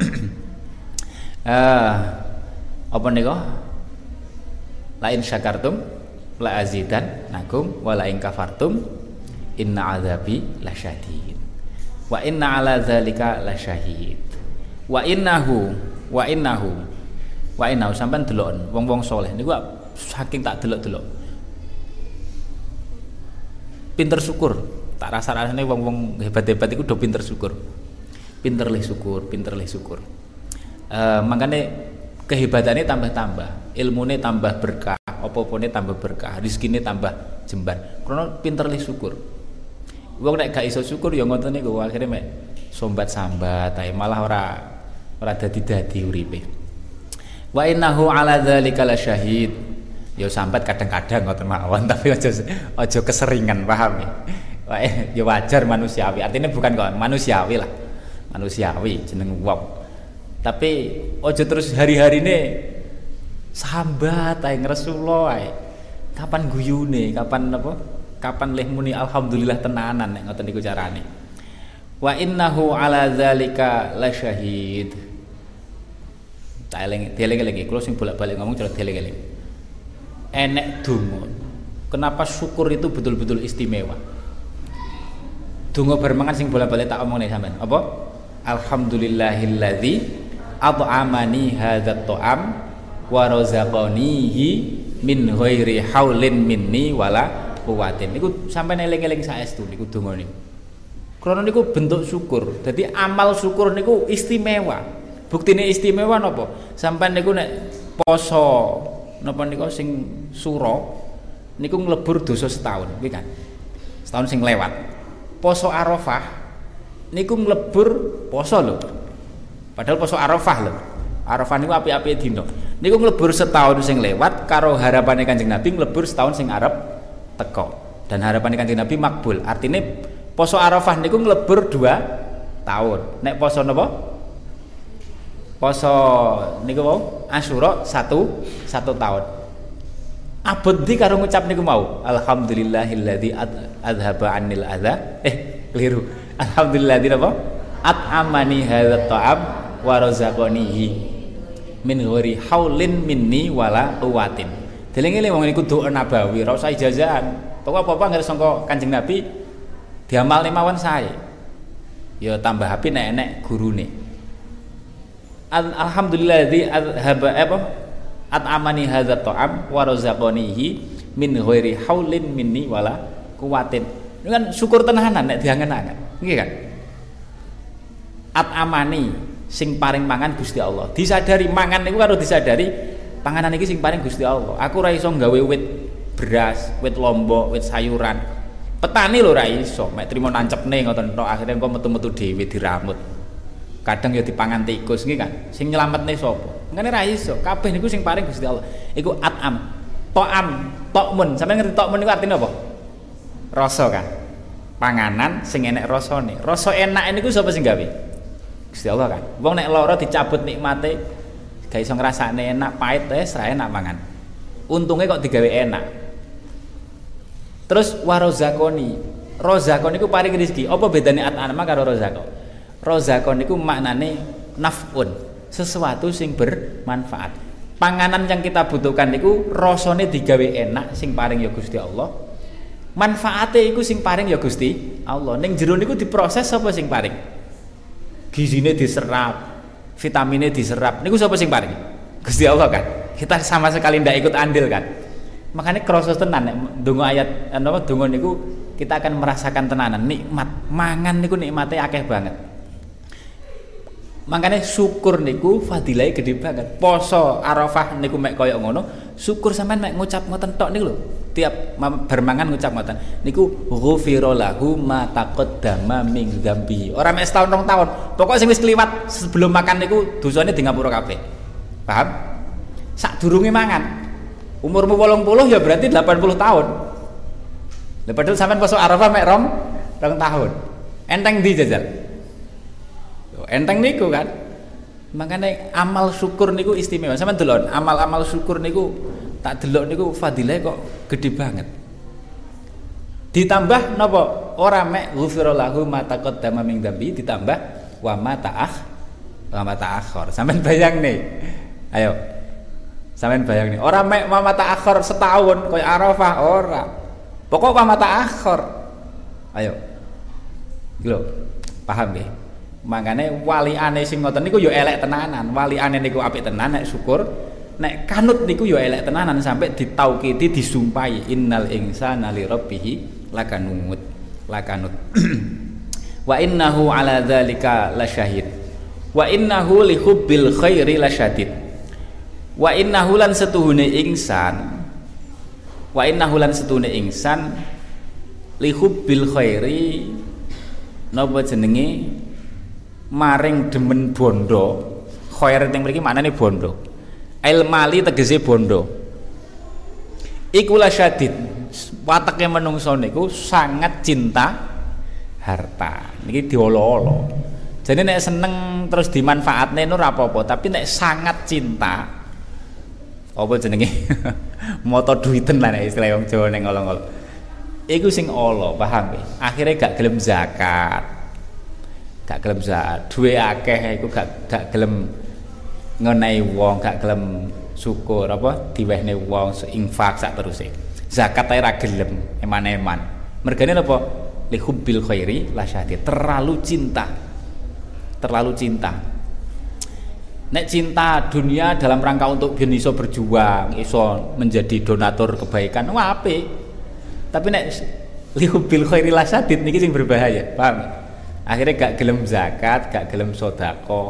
Apa niku? Lain syakartum la azidan nakum wa la in kafartum inna azabi lasyadid wa inna ala dzalika lasyahid wa innahu sampean delok wong-wong saleh niku saking tak delok-delok pinter syukur tak rasa-rasane wong-wong hebat-hebat iku do pinter syukur pinter leh syukur makane kehebatannya tambah-tambah ilmune tambah berkah apa-apane tambah berkah, rezekine tambah jembar. Karena pinter li syukur. Wong nek gak iso syukur ya ngoten niku akhire mek sombat-sambat ae malah ora dadi uripe. Wa innahu ala dzalika lasyahid. Ya sambat kadang-kadang ngoten mawon tapi aja keseringan, paham ya. Ya wajar manusiawi. Artinya bukan kok manusiawi lah. Manusiawi jeneng wong. Tapi aja terus hari-harine sambat ae ngresula ae. Kapan guyune, kapan leh muni alhamdulillah tenanan nek ngoten niku carane. Wa innahu ala dzalika lasyahid. Dieling-eling kula sing bolak-balik ngomong cara dieling-eling. Enek donga. Kenapa syukur itu betul-betul istimewa? Donga bermangan sing bolak-balik tak omongne sampean. Apa? Alhamdulillahilladzi at'amani hadzal ta'am wa razaqanihi min ghairi haulin minni wala quwwatin. Niku sampeyan eling-eling saestu niku donga niku. Krana niku bentuk syukur. Dadi amal syukur niku istimewa. Buktine istimewa napa? Sampeyan niku nek poso napa niku sing sura niku nglebur dosa setahun, kuwi kan. Setahun sing lewat. Poso Arafah niku nglebur poso lho. Padahal poso Arafah lho. Arafah niku api-api dina. Niku nglebur setahun sing lewat karo harapane Kanjeng Nabi nglebur setahun sing arep teko. Dan harapane Kanjeng Nabi makbul. Artine poso Arafah niku nglebur 2 tahun. Nek poso napa? Poso niku wau Asyura 1 tahun. Abot ndi karo ngucap niku mau. Alhamdulillahilladzi adzhaba 'anil adza. Keliru. Alhamdulilladzi napa? At'amani hadzal ta'am wa razaqanihi min ghairi haulin minni wala quwwatin. Deling-eling wong niku doa nabawi, ora usah ijazahan. Pokok apa-apa anggere sangka Kanjeng Nabi diamalne mawon sae. Ya tambah api nek gurune. Alhamdulilladzi adhaba at'amani hadzal ta'am wa razaqanihi min ghairi haulin minni wala quwatin. Ini kan syukur tenanan nek diangen-angen. Nggih kan? At'amani sing paring mangan Gusti Allah. Disadari mangan niku karo disadari panganan iki sing paring Gusti Allah. Aku ora iso gawe wit beras, wit lombok, wit sayuran. Petani lho ora iso, mek trimo nancepne ngoten tok akhire engko metu-metu dhewe diramut. Kadang ya dipangan tikus nggih kan. Sing nyelametne sapa? Ngene ra iso. Kabeh niku sing paring Gusti Allah. Iku at'am. To'am, tokmun. Sampeyan ngerti tokmun niku artine apa? Rasa kan. Panganan sing enek rasane. Rasa enak niku sapa sing gawe? Gusti Allah kan. Wong nek lara dicabut nikmate gak iso ngrasakne enak, pahit wis ra enak mangan. Untunge kok digawe enak. Terus warozakoni. Rozakon niku paring rezeki. Apa bedane at'ama karo rozakon? Rozakon niku maknane naf'un, sesuatu sing bermanfaat. Panganan yang kita butuhkan niku rasane digawe enak sing paring ya Gusti Allah. Manfaate iku sing paring ya Gusti Allah. Ning jero niku diproses sapa sing paring? Gizine diserap, vitamine diserap. Niku sapa sing paring? Gusti Allah kan. Kita sama sekali ndak ikut andil kan. Makanya krasa tenan nek ndonga ayat napa donga niku kita akan merasakan tenanan nikmat. Mangan niku nikmate akeh banget. Makanya syukur niku fadilahnya gede banget. Poso Arafah niku mek koyo ngono, syukur sampean mek ngucap ngoten tok niku lho. Tiap bermangan ngucap ngoten. Niku ghufira lahu ma taqaddama min dzambi. Ora mek setahun 2 tahun. Pokok sing wis kliwat sebelum makan niku dosane di ngapura kabeh. Paham? Sadurunge mangan. Umurmu 80 ya berarti 80 tahun. Lah padahal sampean poso Arafah mek 2 tahun. Enteng ndi jajal? Enteng niku kan. Makanya amal syukur niku istimewa. Sampeyan delok amal-amal syukur niku tak delok niku fadilah kok gede banget. Ditambah napa? Ora mek ghufira lahu ma taqaddama min dzambi, ditambah wa ma ta'akhkhar. Sampeyan bayang nih. Ayo. Sampeyan bayang nih. Ora mek wa ma ta'akhkhar setahun koyo Arafah ora. Pokok wa ma ta'akhkhar. Ayo. Lho, paham nggih? Makane waliane sing ngoten niku ya elek tenanan. Waliane niku apik tenan nek syukur. Nek kanut niku ya elek tenanan sampai ditaukidi disumpahi innal insana li rabbih lakanut. Wa innahu ala dzalika lasyahid. Wa innahu li hubbil khairi lasyadid. Wa innahu lan setuhune ingsan. Wa innahu lan setuhune ingsan li hubbil khairi napa jenenge maring demen bondo. Khair teng mriki maknane bondo. Ail mali tegese bondo. Iku lasyadid. Wateke menungso niku sangat cinta harta. Niki diolo-olo. Jadi nek seneng terus dimanfaatne ora apa-apa, tapi nek sangat cinta apa jenenge? Moto duiten lah nek istilah wong Jawa ning ngolo-ngolo. Iku sing ala, paham nggih? Akhire gak gelem zakat. Gak gelem zakat, duwe akeh iku gak gelem ngenehi wong, gak gelem syukur apa diwehne wong infak sak teruse. Zakat ae ra gelem, eman-eman. Mergane napa? Li hubbil khairi lasyadid. Terlalu cinta. Nek cinta dunia dalam rangka untuk biar iso berjuang, iso menjadi donatur kebaikan, wah apik. Tapi nek li hubbil khairi lasyadid niki sing berbahaya, paham? Akhirnya gak gelem zakat, gak gelem sedekah.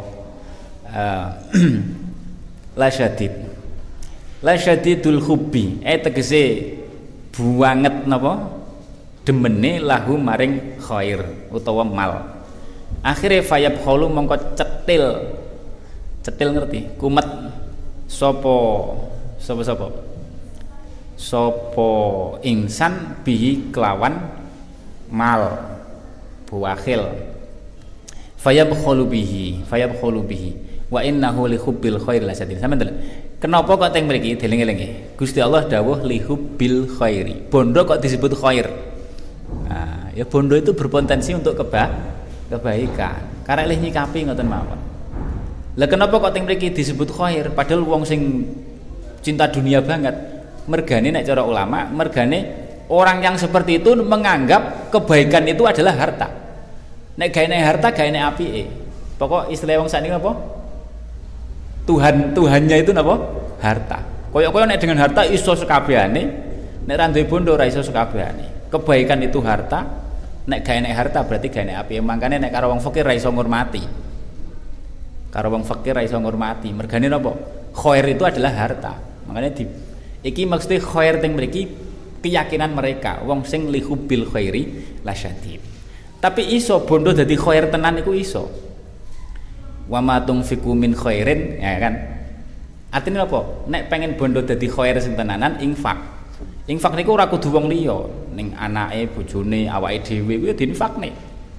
Lasyadidul hubbi, tegese buanget napa? Demene lahu maring khair utawa mal. Akhire fayabkhulu mongko cetil ngerti? Kumet sapa insan bihi kelawan mal buakhil fayabkhulu bihi wa innahu li hubbil khair lasyadid. Sampeyan kenapa kok teng mriki dieling-eling Gusti Allah dawuh li hubbil khairi. Bondo kok disebut khair? Nah, ya bondo itu berpotensi untuk kebaikan. Karek lih nyikapi ngoten mawon. Lah kenapa kok teng mriki disebut khair padahal wong sing cinta dunia banget? Mergane nek cara ulama, mergane Orang yang seperti itu menganggap kebaikan itu adalah harta. Nek gaene harta gaene apike. Pokok istilah wong sakniki apa? Tuhannya itu napa? Harta. Kaya-kaya nek dengan harta iso sekabehane, nek ra duwe bondo ora iso sekabehane. Kebaikan itu harta, nek gaene harta berarti gaene apike. Mangkane nek karo wong fakir ra iso ngurmati. Karo wong fakir ra iso ngurmati. Mergane napa? Khair itu adalah harta. Makanya iki maksudnya khair teng mriki keyakinan mereka wong sing lihubil khairi lasyadid. Tapi iso bondo dadi khair tenan iku iso. Wa ma tunfiqu min khairin, ya kan? Artinya apa? Nek pengen bondo dadi khair sing tenanan infak. Infak niku ora kudu wong liya, ning anake, bojone, awake dhewe kuwi diinfakne.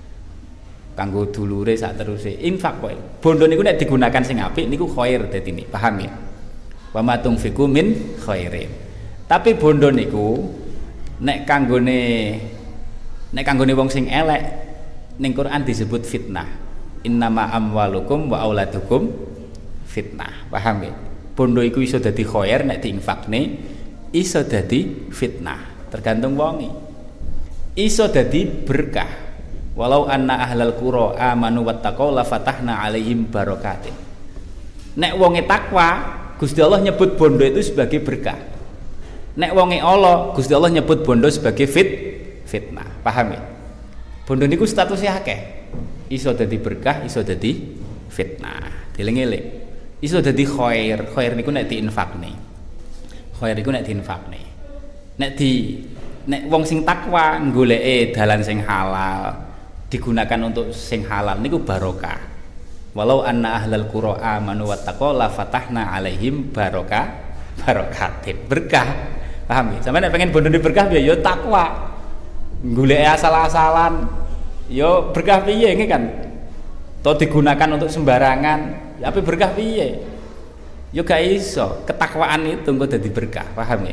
Kanggo dulure sak teruse. Infak kowe. Bondo niku nek digunakan sing apik niku khair dadine, paham ya? Wa ma tunfiqu min khairin. Tapi bondo niku nek kanggone wong sing elek ning Quran disebut fitnah. Innama amwalukum wa auladukum fitnah. Paham ya? Bondo iku iso dadi khair nek diinfakne, iso dadi fitnah, tergantung wonge. Iso dadi berkah. Walau anna ahlal qura amanu wattaqau la fatahna alaihim barakatin. Nek wonge takwa, Gusti Allah nyebut bondo itu sebagai berkah. Nek wonge Allah, Gusti Allah nyebut bondo sebagai fitnah. Paham ya? Bondo niku statusnya akeh. Iso dadi berkah, iso dadi fitnah. Dieling-eling. Iso dadi khair. Khair niku nek diinfakne. Khair niku nek diinfakne. Nek wong sing takwa goleke dalan sing halal, digunakan untuk sing halal niku barokah. Walau anna ahlal qura amanu wattaqau la fatahna alaihim barakatin. Berkah. Paham ya? Sampe nek pengen bondo berkah piye ya takwa. Goleke asal-asalan ya berkah piye nggih kan? To digunakan untuk sembarangan, ya apa berkah piye? Ya gak iso. Ketakwaan itu engko dadi berkah, paham ya?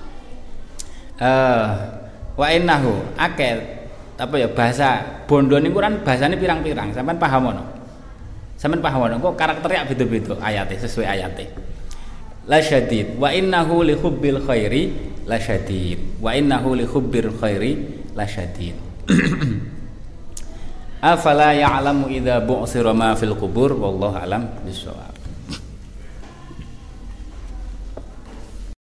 Wa innahu akeh apa ya bahasa bondo niku kan bahasane pirang-pirang. Sampeyan paham ono? Sampeyan paham ono? Kok karakternya beda-beda ayate sesuai ayate. La syadid wa innahu li hubbil khairi la syadid wa innahu li hubbil khairi la syadid. Afala ya'lamu idza bu'sira ma fil qubur wallahu alam bissawab.